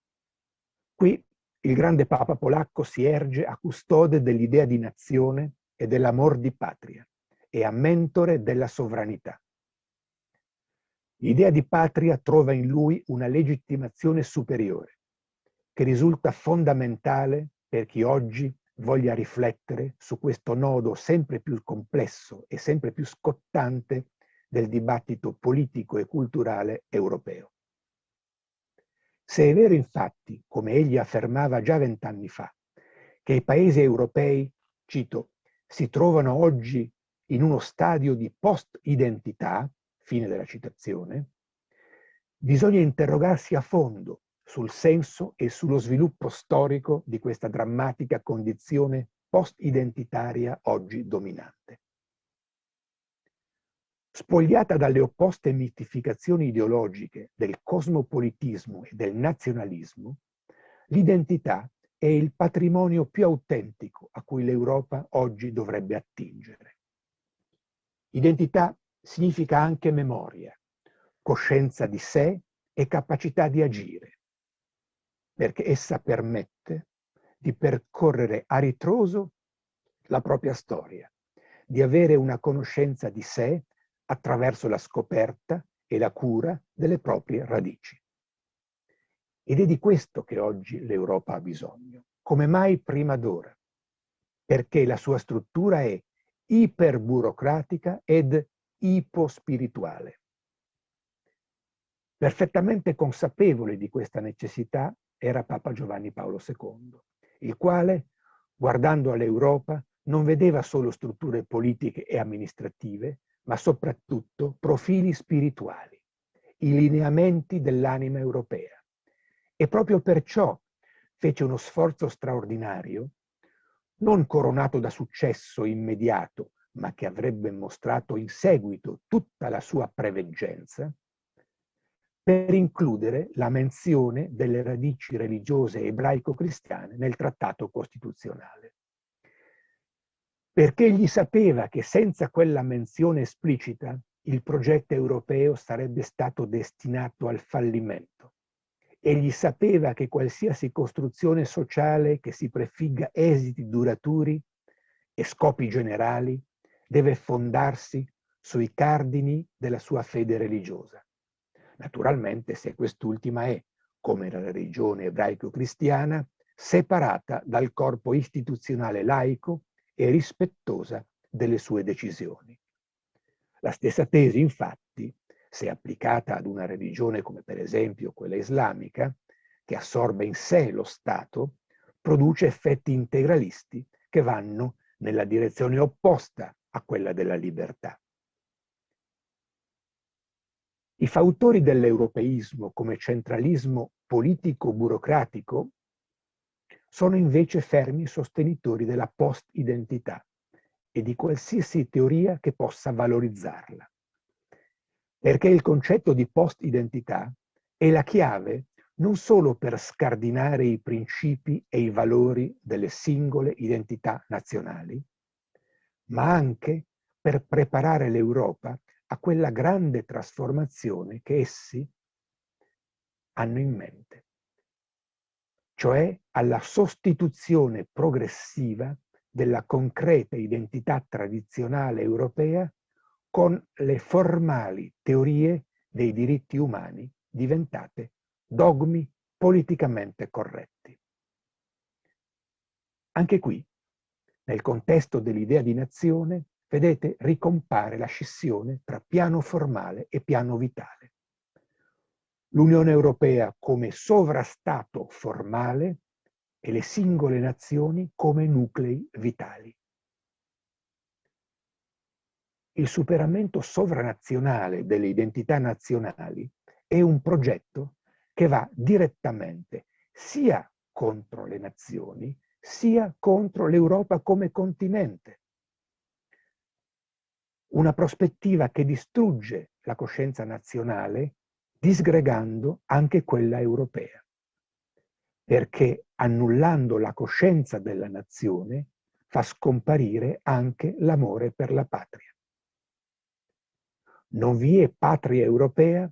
Qui il grande Papa polacco si erge a custode dell'idea di nazione e dell'amor di patria e a mentore della sovranità. L'idea di patria trova in lui una legittimazione superiore, che risulta fondamentale per chi oggi voglia riflettere su questo nodo sempre più complesso e sempre più scottante del dibattito politico e culturale europeo. Se è vero infatti, come egli affermava già 20 anni fa, che i paesi europei, cito, si trovano oggi in uno stadio di post-identità, fine della citazione, bisogna interrogarsi a fondo sul senso e sullo sviluppo storico di questa drammatica condizione post-identitaria oggi dominante. Spogliata dalle opposte mistificazioni ideologiche del cosmopolitismo e del nazionalismo, l'identità è il patrimonio più autentico a cui l'Europa oggi dovrebbe attingere. Identità significa anche memoria, coscienza di sé e capacità di agire, perché essa permette di percorrere a ritroso la propria storia, di avere una conoscenza di sé attraverso la scoperta e la cura delle proprie radici. Ed è di questo che oggi l'Europa ha bisogno, come mai prima d'ora, perché la sua struttura è iperburocratica ed ipospirituale. Perfettamente consapevole di questa necessità era Papa Giovanni Paolo II, il quale, guardando all'Europa, non vedeva solo strutture politiche e amministrative, ma soprattutto profili spirituali, i lineamenti dell'anima europea. E proprio perciò fece uno sforzo straordinario, non coronato da successo immediato, ma che avrebbe mostrato in seguito tutta la sua preveggenza, per includere la menzione delle radici religiose ebraico-cristiane nel trattato costituzionale. Perché egli sapeva che senza quella menzione esplicita il progetto europeo sarebbe stato destinato al fallimento. Egli sapeva che qualsiasi costruzione sociale che si prefigga esiti duraturi e scopi generali deve fondarsi sui cardini della sua fede religiosa. Naturalmente se quest'ultima è, come la religione ebraico-cristiana, separata dal corpo istituzionale laico e rispettosa delle sue decisioni. La stessa tesi, infatti, se applicata ad una religione come per esempio quella islamica, che assorbe in sé lo Stato, produce effetti integralisti che vanno nella direzione opposta a quella della libertà. I fautori dell'europeismo come centralismo politico-burocratico sono invece fermi sostenitori della post-identità e di qualsiasi teoria che possa valorizzarla. Perché il concetto di post-identità è la chiave non solo per scardinare i principi e i valori delle singole identità nazionali, ma anche per preparare l'Europa a quella grande trasformazione che essi hanno in mente, cioè alla sostituzione progressiva della concreta identità tradizionale europea con le formali teorie dei diritti umani diventate dogmi politicamente corretti. Anche qui, nel contesto dell'idea di nazione, vedete, ricompare la scissione tra piano formale e piano vitale. L'Unione Europea come sovrastato formale e le singole nazioni come nuclei vitali. Il superamento sovranazionale delle identità nazionali è un progetto che va direttamente sia contro le nazioni, sia contro l'Europa come continente. Una prospettiva che distrugge la coscienza nazionale, disgregando anche quella europea. Perché annullando la coscienza della nazione fa scomparire anche l'amore per la patria. Non vi è patria europea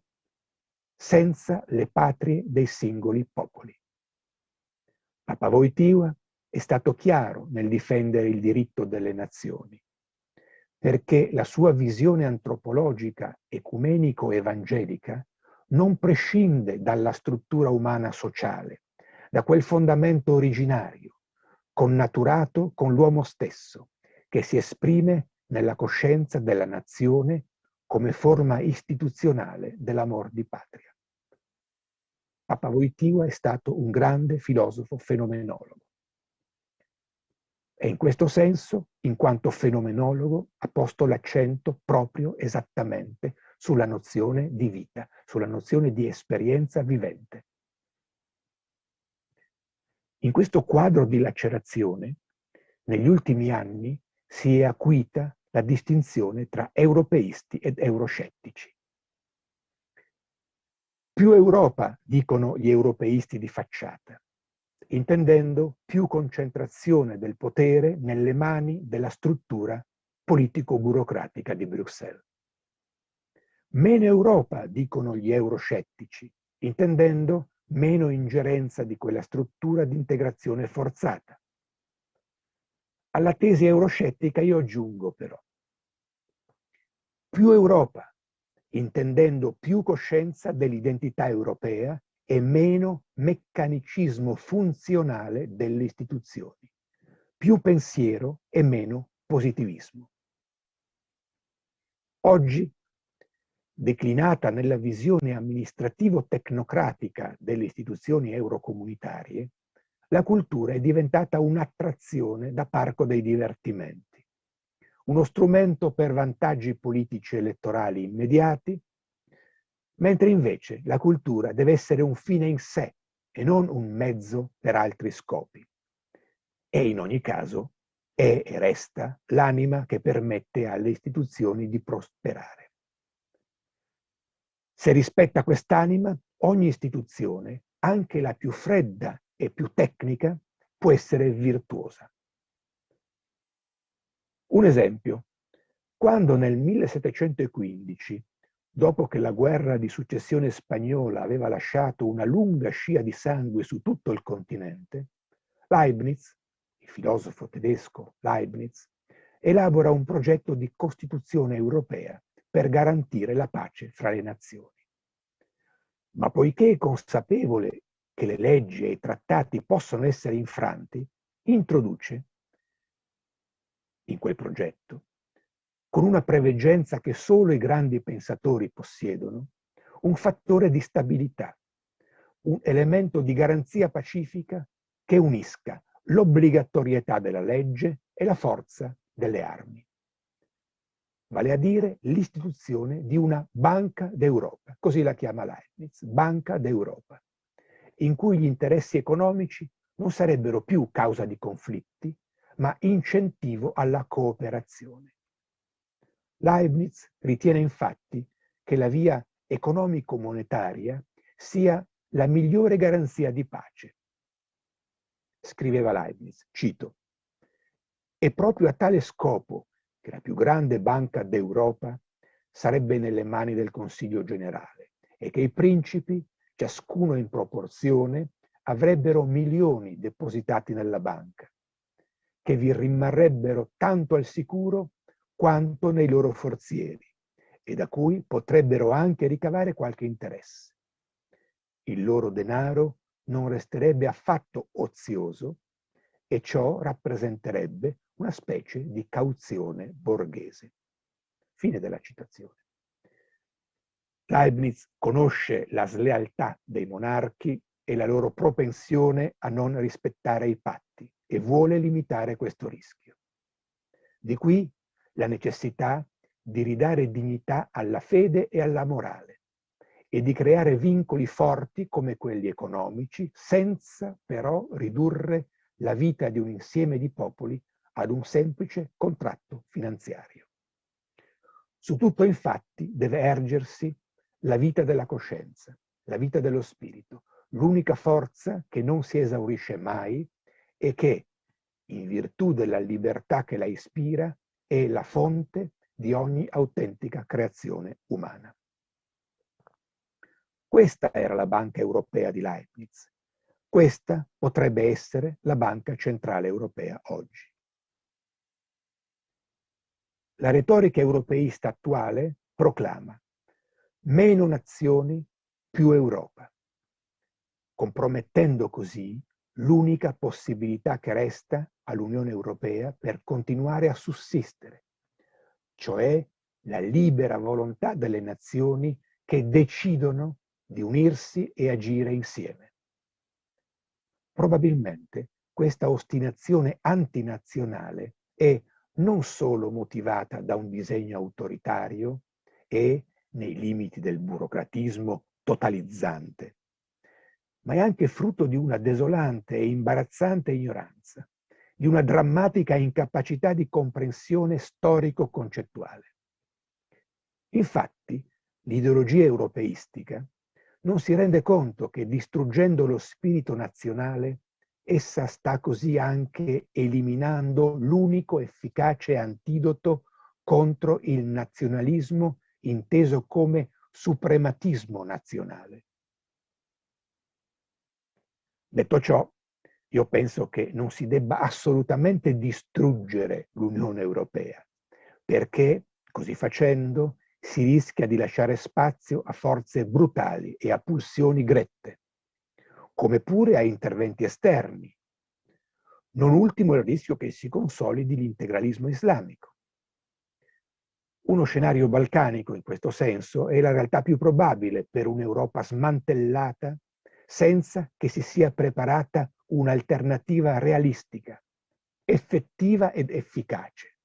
senza le patrie dei singoli popoli. Papa Wojtyła è stato chiaro nel difendere il diritto delle nazioni, perché la sua visione antropologica ecumenico-evangelica non prescinde dalla struttura umana sociale, da quel fondamento originario, connaturato con l'uomo stesso, che si esprime nella coscienza della nazione come forma istituzionale dell'amor di patria. Papa Wojtyła è stato un grande filosofo fenomenologo. E in questo senso, in quanto fenomenologo, ha posto l'accento proprio esattamente sulla nozione di vita, sulla nozione di esperienza vivente. In questo quadro di lacerazione, negli ultimi anni si è acuita la distinzione tra europeisti ed euroscettici. Più Europa, dicono gli europeisti di facciata, intendendo più concentrazione del potere nelle mani della struttura politico-burocratica di Bruxelles. Meno Europa, dicono gli euroscettici, intendendo meno ingerenza di quella struttura di integrazione forzata. Alla tesi euroscettica io aggiungo però più Europa, intendendo più coscienza dell'identità europea e meno meccanicismo funzionale delle istituzioni, più pensiero e meno positivismo. Oggi, declinata nella visione amministrativo-tecnocratica delle istituzioni eurocomunitarie, la cultura è diventata un'attrazione da parco dei divertimenti, uno strumento per vantaggi politici elettorali immediati, mentre invece la cultura deve essere un fine in sé e non un mezzo per altri scopi. E in ogni caso è e resta l'anima che permette alle istituzioni di prosperare. Se rispetta quest'anima, ogni istituzione, anche la più fredda e più tecnica, può essere virtuosa. Un esempio: quando nel 1715, dopo che la guerra di successione spagnola aveva lasciato una lunga scia di sangue su tutto il continente, Leibniz, il filosofo tedesco Leibniz, elabora un progetto di Costituzione europea per garantire la pace fra le nazioni. Ma poiché è consapevole che le leggi e i trattati possono essere infranti, introduce in quel progetto, con una preveggenza che solo i grandi pensatori possiedono, un fattore di stabilità, un elemento di garanzia pacifica che unisca l'obbligatorietà della legge e la forza delle armi. Vale a dire l'istituzione di una Banca d'Europa, così la chiama Leibniz, Banca d'Europa, in cui gli interessi economici non sarebbero più causa di conflitti, ma incentivo alla cooperazione. Leibniz ritiene infatti che la via economico-monetaria sia la migliore garanzia di pace. Scriveva Leibniz, cito: «È proprio a tale scopo che la più grande banca d'Europa sarebbe nelle mani del Consiglio generale e che i principi, ciascuno in proporzione, avrebbero milioni depositati nella banca, che vi rimarrebbero tanto al sicuro quanto nei loro forzieri e da cui potrebbero anche ricavare qualche interesse. Il loro denaro non resterebbe affatto ozioso e ciò rappresenterebbe una specie di cauzione borghese». Fine della citazione. Leibniz conosce la slealtà dei monarchi e la loro propensione a non rispettare i patti e vuole limitare questo rischio. Di qui la necessità di ridare dignità alla fede e alla morale e di creare vincoli forti come quelli economici, senza però ridurre la vita di un insieme di popoli ad un semplice contratto finanziario. Su tutto, infatti, deve ergersi la vita della coscienza, la vita dello spirito, l'unica forza che non si esaurisce mai e che, in virtù della libertà che la ispira, è la fonte di ogni autentica creazione umana. Questa era la Banca Europea di Leibniz, Questa potrebbe essere la Banca Centrale Europea oggi. La retorica europeista attuale proclama meno nazioni, più Europa, compromettendo così l'unica possibilità che resta all'Unione Europea per continuare a sussistere, cioè la libera volontà delle nazioni che decidono di unirsi e agire insieme. Probabilmente questa ostinazione antinazionale è non solo motivata da un disegno autoritario e nei limiti del burocratismo totalizzante, ma è anche frutto di una desolante e imbarazzante ignoranza, di una drammatica incapacità di comprensione storico-concettuale. Infatti, l'ideologia europeistica non si rende conto che distruggendo lo spirito nazionale, essa sta così anche eliminando l'unico efficace antidoto contro il nazionalismo inteso come suprematismo nazionale. Detto ciò, io penso che non si debba assolutamente distruggere l'Unione Europea, perché così facendo si rischia di lasciare spazio a forze brutali e a pulsioni grette, come pure a interventi esterni. Non ultimo il rischio che si consolidi l'integralismo islamico. Uno scenario balcanico in questo senso è la realtà più probabile per un'Europa smantellata senza che si sia preparata un'alternativa realistica, effettiva ed efficace.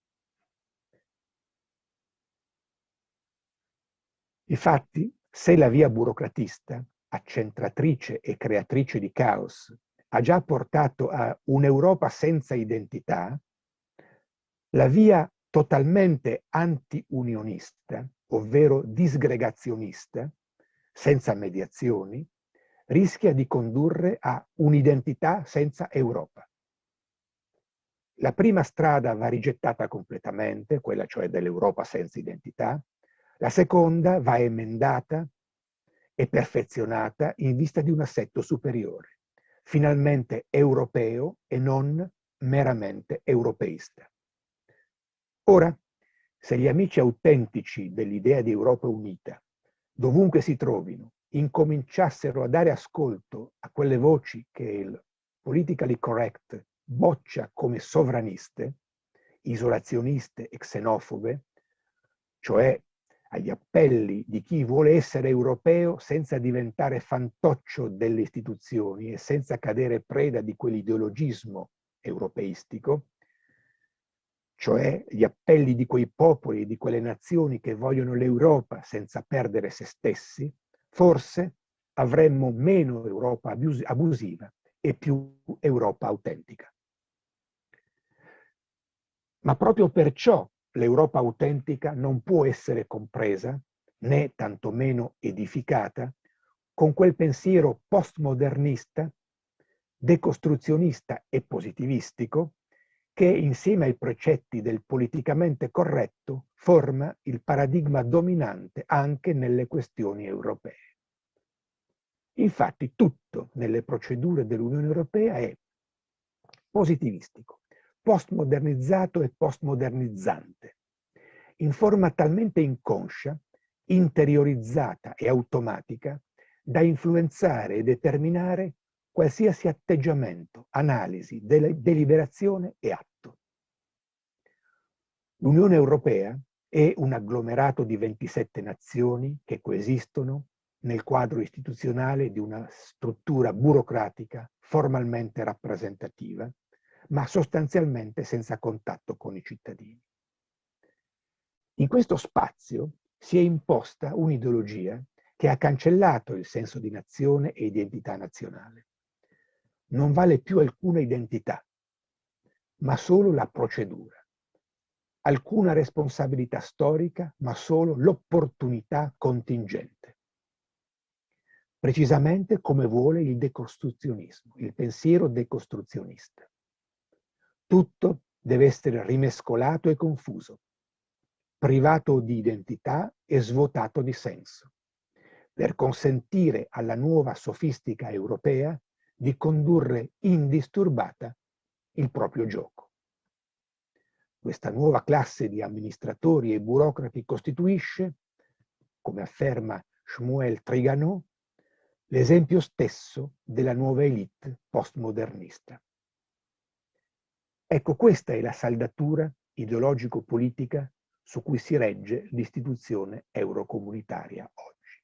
Infatti, se la via burocratista, accentratrice e creatrice di caos, ha già portato a un'Europa senza identità, la via totalmente anti-unionista, ovvero disgregazionista, senza mediazioni, rischia di condurre a un'identità senza Europa. La prima strada va rigettata completamente, quella cioè dell'Europa senza identità. La seconda va emendata e perfezionata in vista di un assetto superiore, finalmente europeo e non meramente europeista. Ora, se gli amici autentici dell'idea di Europa unita, dovunque si trovino, incominciassero a dare ascolto a quelle voci che il politically correct boccia come sovraniste, isolazioniste e xenofobe, cioè agli appelli di chi vuole essere europeo senza diventare fantoccio delle istituzioni e senza cadere preda di quell'ideologismo europeistico, cioè gli appelli di quei popoli e di quelle nazioni che vogliono l'Europa senza perdere se stessi, forse avremmo meno Europa abusiva e più Europa autentica. Ma proprio perciò l'Europa autentica non può essere compresa, né tantomeno edificata, con quel pensiero postmodernista, decostruzionista e positivistico che insieme ai precetti del politicamente corretto forma il paradigma dominante anche nelle questioni europee. Infatti tutto nelle procedure dell'Unione Europea è positivistico, postmodernizzato e postmodernizzante, in forma talmente inconscia, interiorizzata e automatica da influenzare e determinare qualsiasi atteggiamento, analisi, deliberazione e atto. L'Unione Europea è un agglomerato di 27 nazioni che coesistono nel quadro istituzionale di una struttura burocratica formalmente rappresentativa, ma sostanzialmente senza contatto con i cittadini. In questo spazio si è imposta un'ideologia che ha cancellato il senso di nazione e identità nazionale. Non vale più alcuna identità, ma solo la procedura. Alcuna responsabilità storica, ma solo l'opportunità contingente. Precisamente come vuole il decostruzionismo, il pensiero decostruzionista. Tutto deve essere rimescolato e confuso, privato di identità e svuotato di senso, per consentire alla nuova sofistica europea di condurre indisturbata il proprio gioco. Questa nuova classe di amministratori e burocrati costituisce, come afferma Shmuel Trigano, l'esempio stesso della nuova elite postmodernista. Ecco, questa è la saldatura ideologico-politica su cui si regge l'istituzione eurocomunitaria oggi.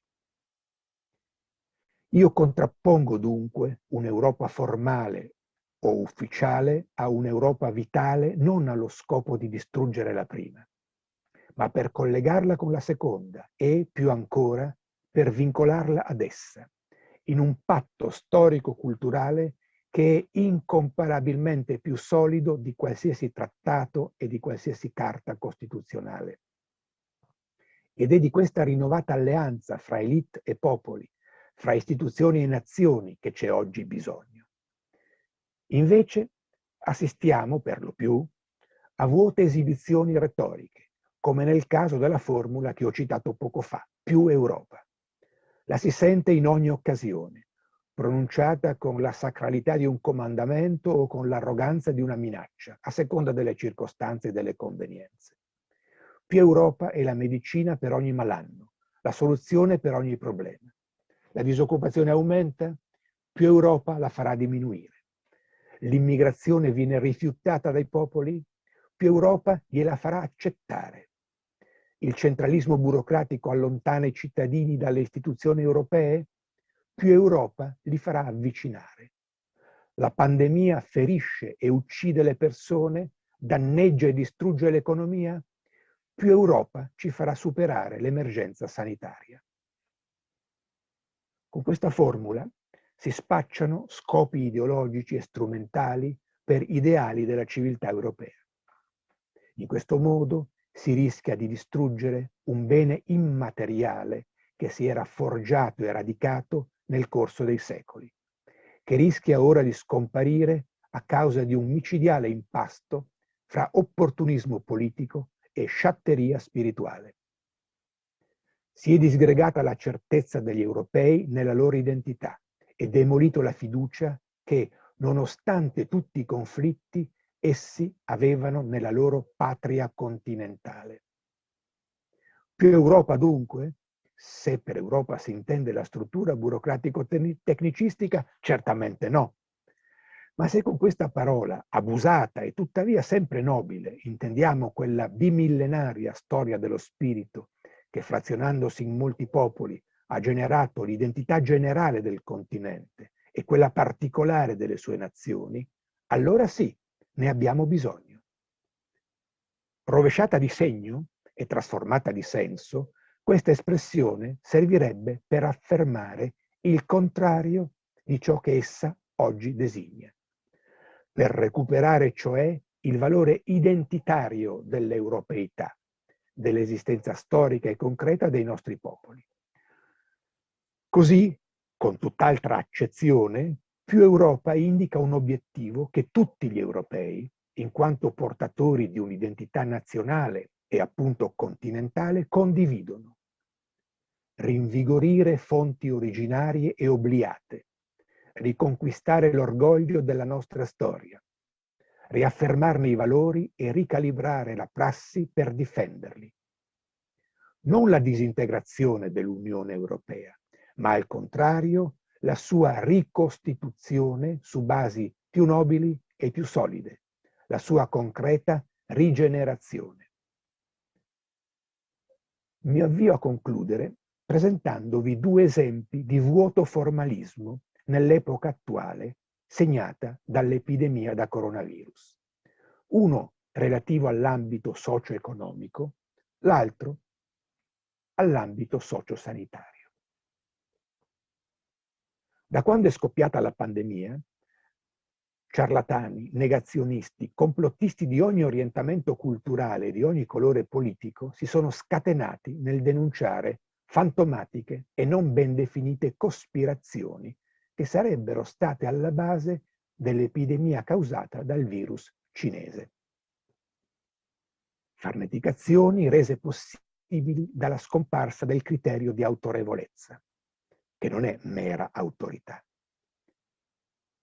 Io contrappongo dunque un'Europa formale o ufficiale a un'Europa vitale non allo scopo di distruggere la prima, ma per collegarla con la seconda e, più ancora, per vincolarla ad essa, in un patto storico-culturale che è incomparabilmente più solido di qualsiasi trattato e di qualsiasi carta costituzionale. Ed è di questa rinnovata alleanza fra elite e popoli, fra istituzioni e nazioni che c'è oggi bisogno. Invece assistiamo per lo più a vuote esibizioni retoriche, come nel caso della formula che ho citato poco fa, più Europa. La si sente in ogni occasione, pronunciata con la sacralità di un comandamento o con l'arroganza di una minaccia, a seconda delle circostanze e delle convenienze. Più Europa è la medicina per ogni malanno, la soluzione per ogni problema. La disoccupazione aumenta, più Europa la farà diminuire. L'immigrazione viene rifiutata dai popoli, più Europa gliela farà accettare. Il centralismo burocratico allontana i cittadini dalle istituzioni europee, più Europa li farà avvicinare. La pandemia ferisce e uccide le persone, danneggia e distrugge l'economia, più Europa ci farà superare l'emergenza sanitaria. Con questa formula si spacciano scopi ideologici e strumentali per ideali della civiltà europea. In questo modo si rischia di distruggere un bene immateriale che si era forgiato e radicato nel corso dei secoli, che rischia ora di scomparire a causa di un micidiale impasto fra opportunismo politico e sciatteria spirituale. Si è disgregata la certezza degli europei nella loro identità e demolito la fiducia che, nonostante tutti i conflitti, essi avevano nella loro patria continentale. Più Europa dunque, se per Europa si intende la struttura burocratico-tecnicistica, certamente no. Ma se con questa parola, abusata e tuttavia sempre nobile, intendiamo quella bimillenaria storia dello spirito che frazionandosi in molti popoli ha generato l'identità generale del continente e quella particolare delle sue nazioni, allora sì, ne abbiamo bisogno. Rovesciata di segno e trasformata di senso, questa espressione servirebbe per affermare il contrario di ciò che essa oggi designa, per recuperare cioè il valore identitario dell'europeità, dell'esistenza storica e concreta dei nostri popoli. Così, con tutt'altra accezione, più Europa indica un obiettivo che tutti gli europei, in quanto portatori di un'identità nazionale e appunto continentale, condividono. Rinvigorire fonti originarie e obliate, riconquistare l'orgoglio della nostra storia, riaffermarne i valori e ricalibrare la prassi per difenderli. Non la disintegrazione dell'Unione Europea, ma al contrario la sua ricostituzione su basi più nobili e più solide, la sua concreta rigenerazione. Mi avvio a concludere presentandovi due esempi di vuoto formalismo nell'epoca attuale segnata dall'epidemia da coronavirus. Uno relativo all'ambito socio-economico, l'altro all'ambito socio-sanitario. Da quando è scoppiata la pandemia, ciarlatani, negazionisti, complottisti di ogni orientamento culturale e di ogni colore politico si sono scatenati nel denunciare fantomatiche e non ben definite cospirazioni che sarebbero state alla base dell'epidemia causata dal virus cinese. Farneticazioni rese possibili dalla scomparsa del criterio di autorevolezza, che non è mera autorità.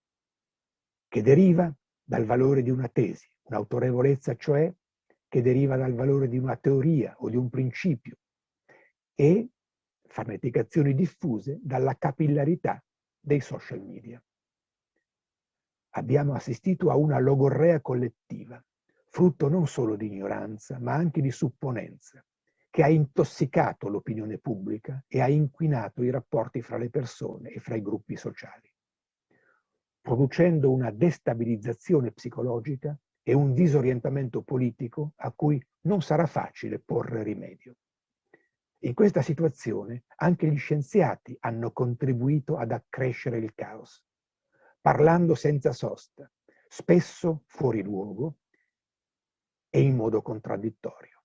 che deriva dal valore di una tesi, un'autorevolezza cioè che deriva dal valore di una teoria o di un principio, e farneticazioni diffuse dalla capillarità dei social media. Abbiamo assistito a una logorrea collettiva, frutto non solo di ignoranza, ma anche di supponenza, che ha intossicato l'opinione pubblica e ha inquinato i rapporti fra le persone e fra i gruppi sociali, producendo una destabilizzazione psicologica e un disorientamento politico a cui non sarà facile porre rimedio. In questa situazione anche gli scienziati hanno contribuito ad accrescere il caos, parlando senza sosta, spesso fuori luogo e in modo contraddittorio.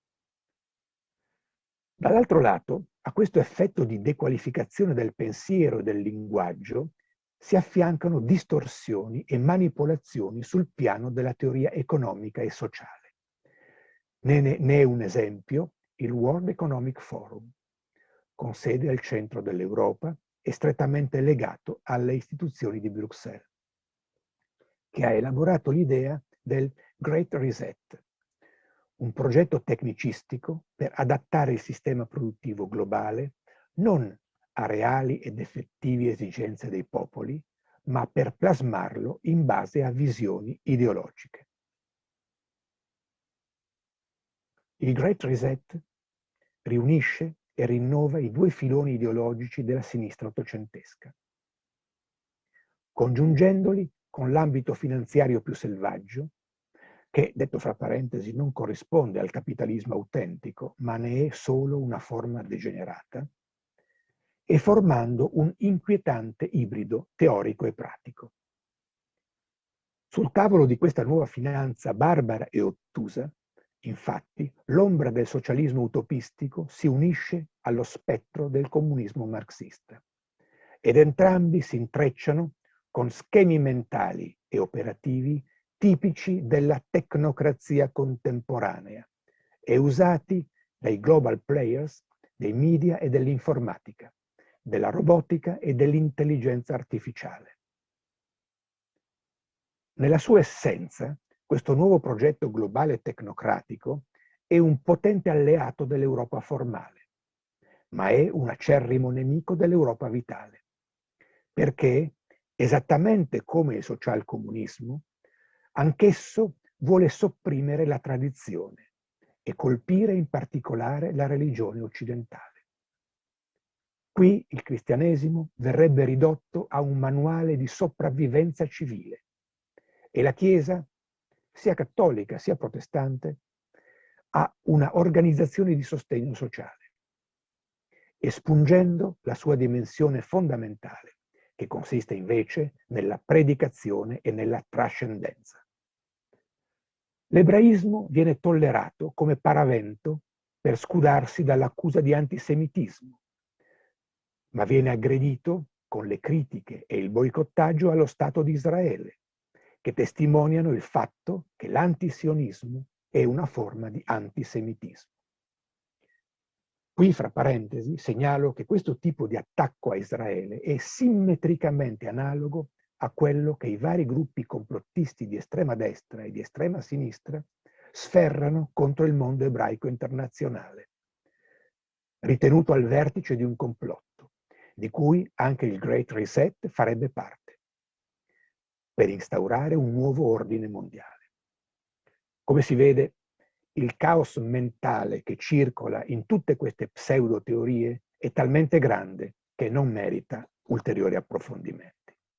Dall'altro lato, a questo effetto di dequalificazione del pensiero e del linguaggio si affiancano distorsioni e manipolazioni sul piano della teoria economica e sociale. Ne è un esempio il World Economic Forum, con sede al centro dell'Europa e strettamente legato alle istituzioni di Bruxelles, che ha elaborato l'idea del Great Reset, un progetto tecnicistico per adattare il sistema produttivo globale non a reali ed effettivi esigenze dei popoli, ma per plasmarlo in base a visioni ideologiche. Il Great Reset riunisce e rinnova i due filoni ideologici della sinistra ottocentesca, congiungendoli con l'ambito finanziario più selvaggio, che, detto fra parentesi, non corrisponde al capitalismo autentico, ma ne è solo una forma degenerata, e formando un inquietante ibrido teorico e pratico. Sul tavolo di questa nuova finanza barbara e ottusa, infatti, l'ombra del socialismo utopistico si unisce allo spettro del comunismo marxista, ed entrambi si intrecciano con schemi mentali e operativi tipici della tecnocrazia contemporanea e usati dai global players dei media e dell'informatica, della robotica e dell'intelligenza artificiale. Nella sua essenza, questo nuovo progetto globale tecnocratico è un potente alleato dell'Europa formale, ma è un acerrimo nemico dell'Europa vitale, perché, esattamente come il socialcomunismo, anch'esso vuole sopprimere la tradizione e colpire in particolare la religione occidentale. Qui il cristianesimo verrebbe ridotto a un manuale di sopravvivenza civile e la Chiesa, sia cattolica sia protestante, ha una organizzazione di sostegno sociale, espungendo la sua dimensione fondamentale, che consiste invece nella predicazione e nella trascendenza. L'ebraismo viene tollerato come paravento per scudarsi dall'accusa di antisemitismo, ma viene aggredito con le critiche e il boicottaggio allo Stato di Israele, che testimoniano il fatto che l'antisionismo è una forma di antisemitismo. Qui, fra parentesi, segnalo che questo tipo di attacco a Israele è simmetricamente analogo a quello che i vari gruppi complottisti di estrema destra e di estrema sinistra sferrano contro il mondo ebraico internazionale, ritenuto al vertice di un complotto, di cui anche il Great Reset farebbe parte, per instaurare un nuovo ordine mondiale. Come si vede, il caos mentale che circola in tutte queste pseudo-teorie è talmente grande che non merita ulteriori approfondimenti.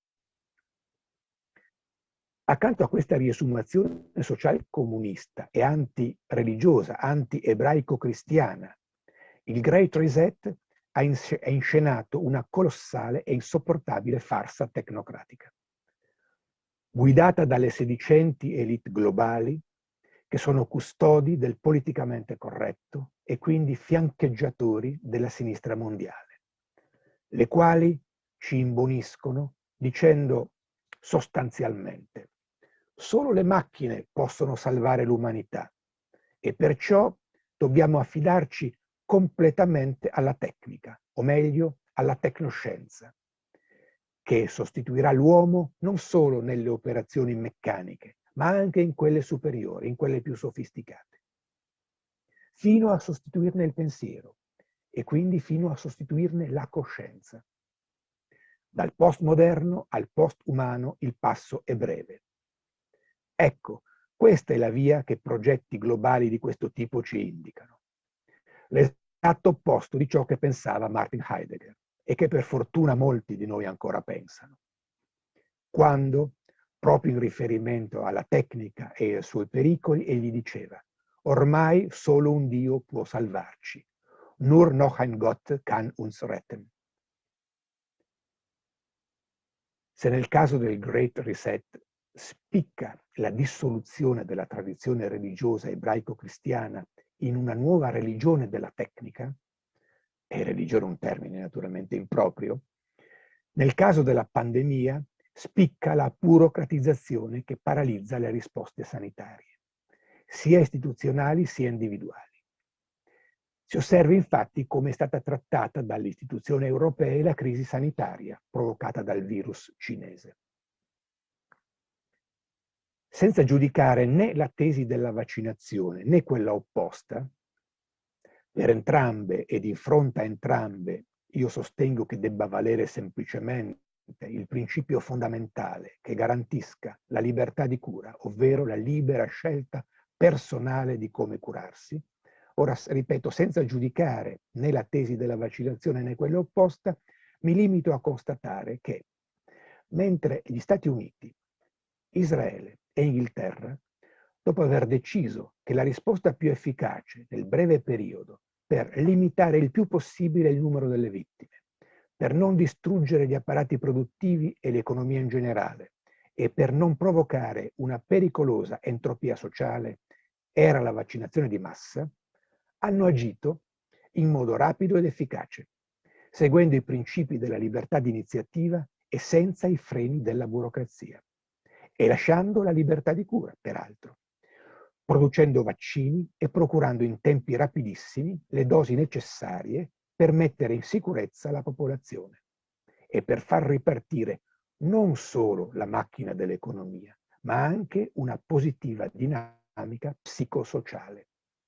Accanto a questa riesumazione sociale comunista e anti-religiosa, anti-ebraico-cristiana, il Great Reset ha inscenato una colossale e insopportabile farsa tecnocratica, guidata dalle sedicenti elite globali che sono custodi del politicamente corretto e quindi fiancheggiatori della sinistra mondiale, le quali ci imboniscono dicendo sostanzialmente: solo le macchine possono salvare l'umanità e perciò dobbiamo affidarci completamente alla tecnica, o meglio alla tecnoscienza, che sostituirà l'uomo non solo nelle operazioni meccaniche, ma anche in quelle superiori, in quelle più sofisticate, fino a sostituirne il pensiero e quindi fino a sostituirne la coscienza. Dal postmoderno al postumano il passo è breve. Ecco, questa è la via che progetti globali di questo tipo ci indicano. L'esatto opposto di ciò che pensava Martin Heidegger e che per fortuna molti di noi ancora pensano. Quando, proprio in riferimento alla tecnica e ai suoi pericoli, egli diceva: ormai solo un Dio può salvarci. Nur noch ein Gott kann uns retten. Se nel caso del Great Reset spicca la dissoluzione della tradizione religiosa ebraico-cristiana in una nuova religione della tecnica, e religione è un termine naturalmente improprio, nel caso della pandemia spicca la burocratizzazione che paralizza le risposte sanitarie, sia istituzionali sia individuali. Si osserva infatti come è stata trattata dalle istituzioni europee la crisi sanitaria provocata dal virus cinese. Senza giudicare né la tesi della vaccinazione né quella opposta, per entrambe e di fronte a entrambe io sostengo che debba valere semplicemente il principio fondamentale che garantisca la libertà di cura, ovvero la libera scelta personale di come curarsi. Ora, ripeto, senza giudicare né la tesi della vaccinazione né quella opposta, mi limito a constatare che mentre gli Stati Uniti, Israele e Inghilterra, dopo aver deciso che la risposta più efficace nel breve periodo per limitare il più possibile il numero delle vittime, per non distruggere gli apparati produttivi e l'economia in generale e per non provocare una pericolosa entropia sociale, era la vaccinazione di massa, hanno agito in modo rapido ed efficace, seguendo i principi della libertà di iniziativa e senza i freni della burocrazia, e lasciando la libertà di cura, peraltro, producendo vaccini e procurando in tempi rapidissimi le dosi necessarie per mettere in sicurezza la popolazione e per far ripartire non solo la macchina dell'economia, ma anche una positiva dinamica psicosociale.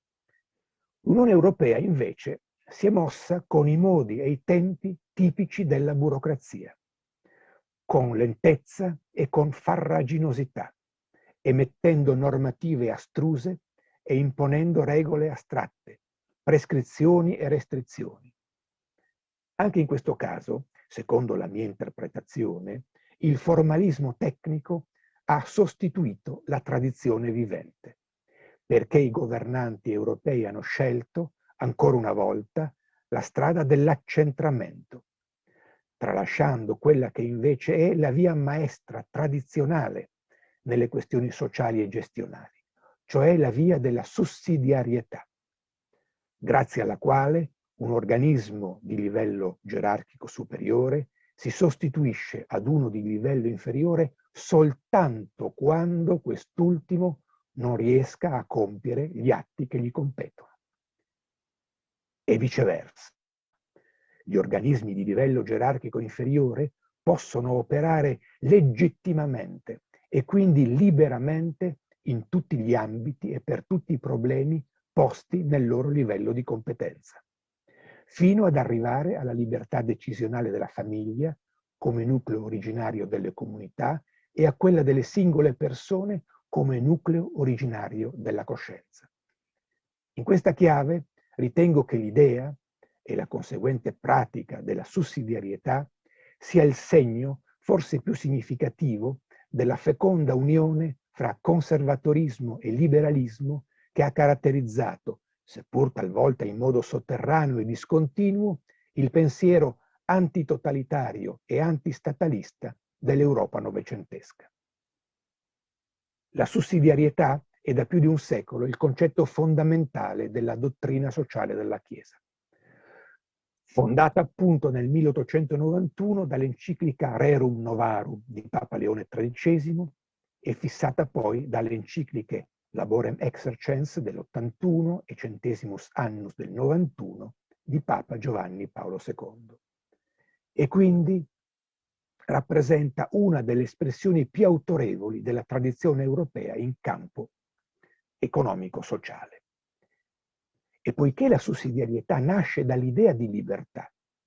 L'Unione Europea, invece, si è mossa con i modi e i tempi tipici della burocrazia, con lentezza e con farraginosità, emettendo normative astruse e imponendo regole astratte, prescrizioni e restrizioni. Anche in questo caso, secondo la mia interpretazione, il formalismo tecnico ha sostituito la tradizione vivente, perché i governanti europei hanno scelto, ancora una volta, la strada dell'accentramento, tralasciando quella che invece è la via maestra tradizionale nelle questioni sociali e gestionali, cioè la via della sussidiarietà, grazie alla quale un organismo di livello gerarchico superiore si sostituisce ad uno di livello inferiore soltanto quando quest'ultimo non riesca a compiere gli atti che gli competono. E viceversa. Gli organismi di livello gerarchico inferiore possono operare legittimamente e quindi liberamente in tutti gli ambiti e per tutti i problemi posti nel loro livello di competenza, fino ad arrivare alla libertà decisionale della famiglia come nucleo originario delle comunità e a quella delle singole persone come nucleo originario della coscienza. In questa chiave ritengo che l'idea e la conseguente pratica della sussidiarietà sia il segno forse più significativo della feconda unione fra conservatorismo e liberalismo che ha caratterizzato, seppur talvolta in modo sotterraneo e discontinuo, il pensiero antitotalitario e antistatalista dell'Europa novecentesca. La sussidiarietà è da più di un secolo il concetto fondamentale della dottrina sociale della Chiesa, fondata appunto nel 1891 dall'enciclica Rerum Novarum di Papa Leone XIII e fissata poi dalle encicliche Laborem Exercens dell'81 e Centesimus Annus del 91 di Papa Giovanni Paolo II. E quindi rappresenta una delle espressioni più autorevoli della tradizione europea in campo economico-sociale. E poiché la sussidiarietà nasce dall'idea di libertà,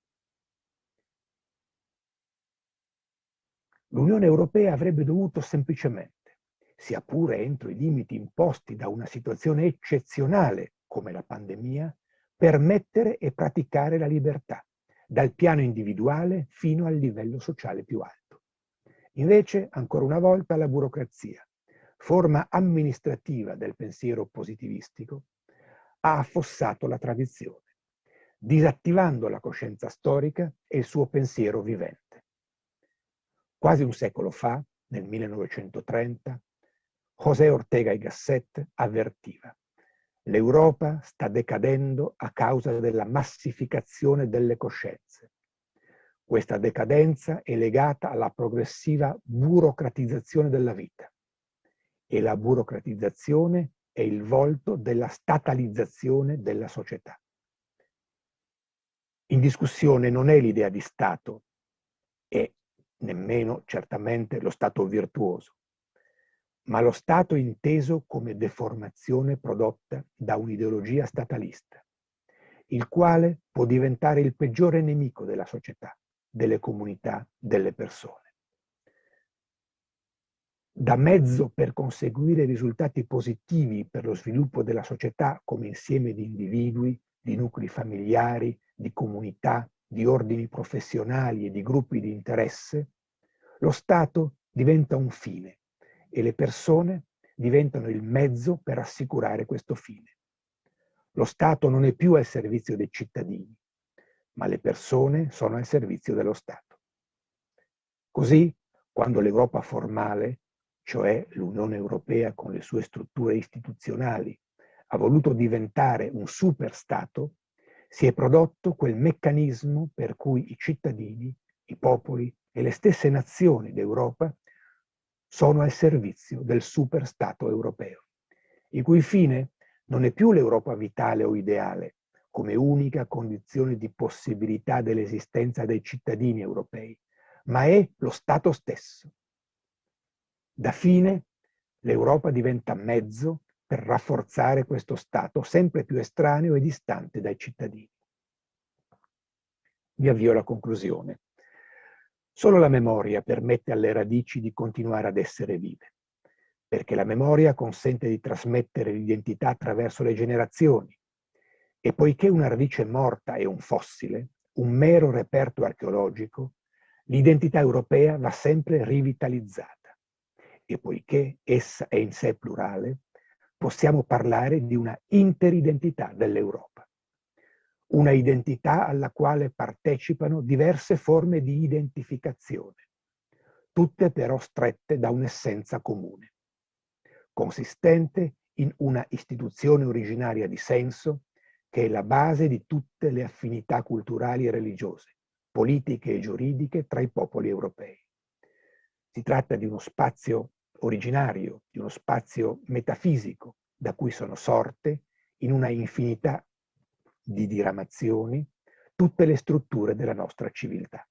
l'Unione Europea avrebbe dovuto semplicemente, sia pure entro i limiti imposti da una situazione eccezionale come la pandemia, permettere e praticare la libertà, dal piano individuale fino al livello sociale più alto. Invece, ancora una volta, la burocrazia, forma amministrativa del pensiero positivistico, ha affossato la tradizione, disattivando la coscienza storica e il suo pensiero vivente. Quasi un secolo fa, nel 1930, José Ortega y Gasset avvertiva: l'Europa sta decadendo a causa della massificazione delle coscienze. Questa decadenza è legata alla progressiva burocratizzazione della vita e la burocratizzazione è il volto della statalizzazione della società. In discussione non è l'idea di Stato e nemmeno certamente lo Stato virtuoso, ma lo Stato inteso come deformazione prodotta da un'ideologia statalista, il quale può diventare il peggiore nemico della società, delle comunità, delle persone. Da mezzo per conseguire risultati positivi per lo sviluppo della società come insieme di individui, di nuclei familiari, di comunità, di ordini professionali e di gruppi di interesse, lo Stato diventa un fine e le persone diventano il mezzo per assicurare questo fine. Lo Stato non è più al servizio dei cittadini, ma le persone sono al servizio dello Stato. Così, quando l'Europa formale, cioè l'Unione Europea con le sue strutture istituzionali, ha voluto diventare un superstato, si è prodotto quel meccanismo per cui i cittadini, i popoli e le stesse nazioni d'Europa sono al servizio del superstato europeo, il cui fine non è più l'Europa vitale o ideale, come unica condizione di possibilità dell'esistenza dei cittadini europei, ma è lo Stato stesso. Da fine, l'Europa diventa mezzo per rafforzare questo Stato sempre più estraneo e distante dai cittadini. Mi avvio alla conclusione. Solo la memoria permette alle radici di continuare ad essere vive, perché la memoria consente di trasmettere l'identità attraverso le generazioni, e poiché una radice morta è un fossile, un mero reperto archeologico, l'identità europea va sempre rivitalizzata. E poiché essa è in sé plurale, possiamo parlare di una interidentità dell'Europa. Una identità alla quale partecipano diverse forme di identificazione, tutte però strette da un'essenza comune, consistente in una istituzione originaria di senso che è la base di tutte le affinità culturali e religiose, politiche e giuridiche tra i popoli europei. Si tratta di uno spazio originario, di uno spazio metafisico, da cui sono sorte, in una infinità di diramazioni, tutte le strutture della nostra civiltà.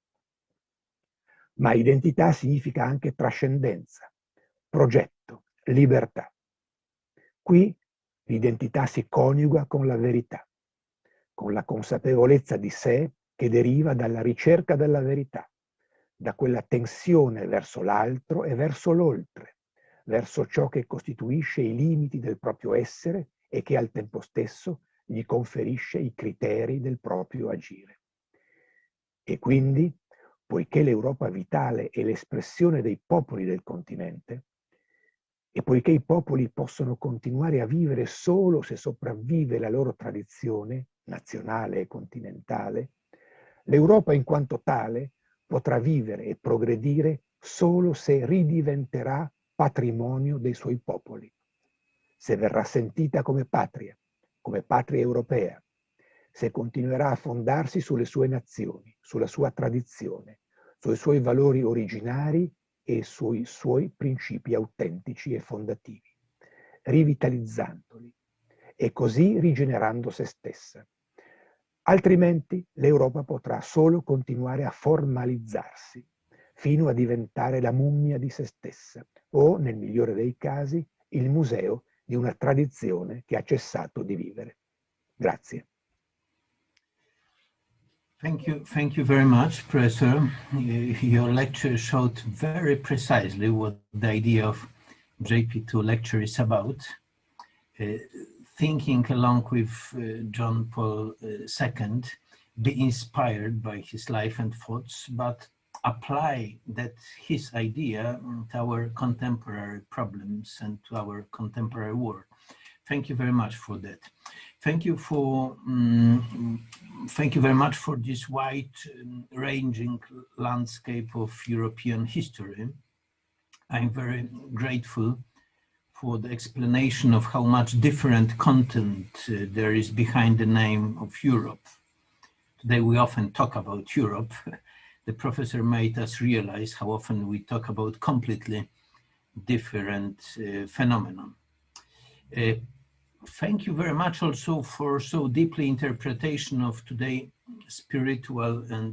Ma identità significa anche trascendenza, progetto, libertà. Qui l'identità si coniuga con la verità, con la consapevolezza di sé che deriva dalla ricerca della verità, da quella tensione verso l'altro e verso l'oltre, verso ciò che costituisce i limiti del proprio essere e che al tempo stesso gli conferisce i criteri del proprio agire. E quindi, poiché l'Europa vitale è l'espressione dei popoli del continente, e poiché i popoli possono continuare a vivere solo se sopravvive la loro tradizione nazionale e continentale, l'Europa in quanto tale potrà vivere e progredire solo se ridiventerà patrimonio dei suoi popoli, se verrà sentita come patria europea, se continuerà a fondarsi sulle sue nazioni, sulla sua tradizione, sui suoi valori originari e sui suoi principi autentici e fondativi, rivitalizzandoli e così rigenerando se stessa. Altrimenti l'Europa potrà solo continuare a formalizzarsi, fino a diventare la mummia di se stessa o, nel migliore dei casi, il museo di una tradizione che ha cessato di vivere. Grazie. Thank you very much, Professor. Your lecture showed very precisely what the idea of JP2 lecture is about. Thinking along with John Paul II, be inspired by his life and thoughts, but apply his idea to our contemporary problems and to our contemporary world. Thank you very much for that. Thank you very much for this wide-ranging landscape of European history. I'm very grateful for the explanation of how much different content there is behind the name of Europe. Today we often talk about Europe. The professor made us realize how often we talk about completely different phenomenon. Thank you very much also for so deeply interpretation of today spiritual and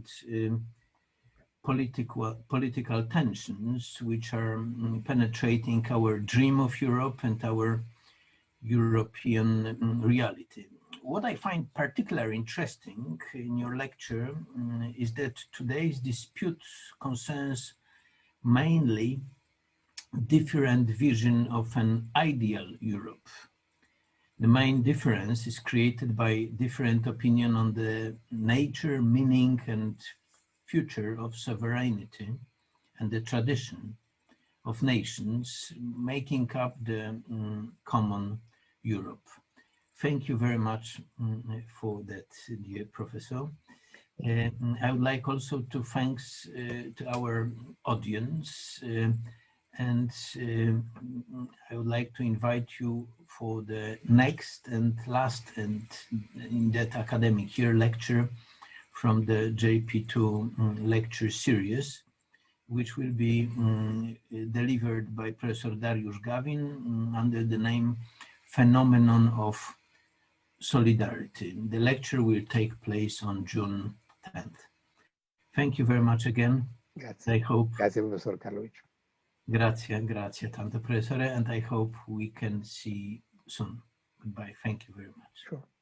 political tensions which are penetrating our dream of Europe and our European reality. What I find particularly interesting in your lecture is that today's dispute concerns mainly different vision of an ideal Europe. The main difference is created by different opinion on the nature, meaning, and future of sovereignty and the tradition of nations making up the common Europe. Thank you very much for that, dear Professor. I would like also to thank to our audience and I would like to invite you for the next and last and in that academic year lecture from the JP2 lecture series, which will be delivered by Professor Dariusz Gawin under the name Phenomenon of Solidarity. The lecture will take place on June 10th. Thank you very much again. Grazie. I hope. Grazie, Professor Karlovic. Grazie tanto, Professore, and I hope we can see soon. Goodbye. Thank you very much. Sure.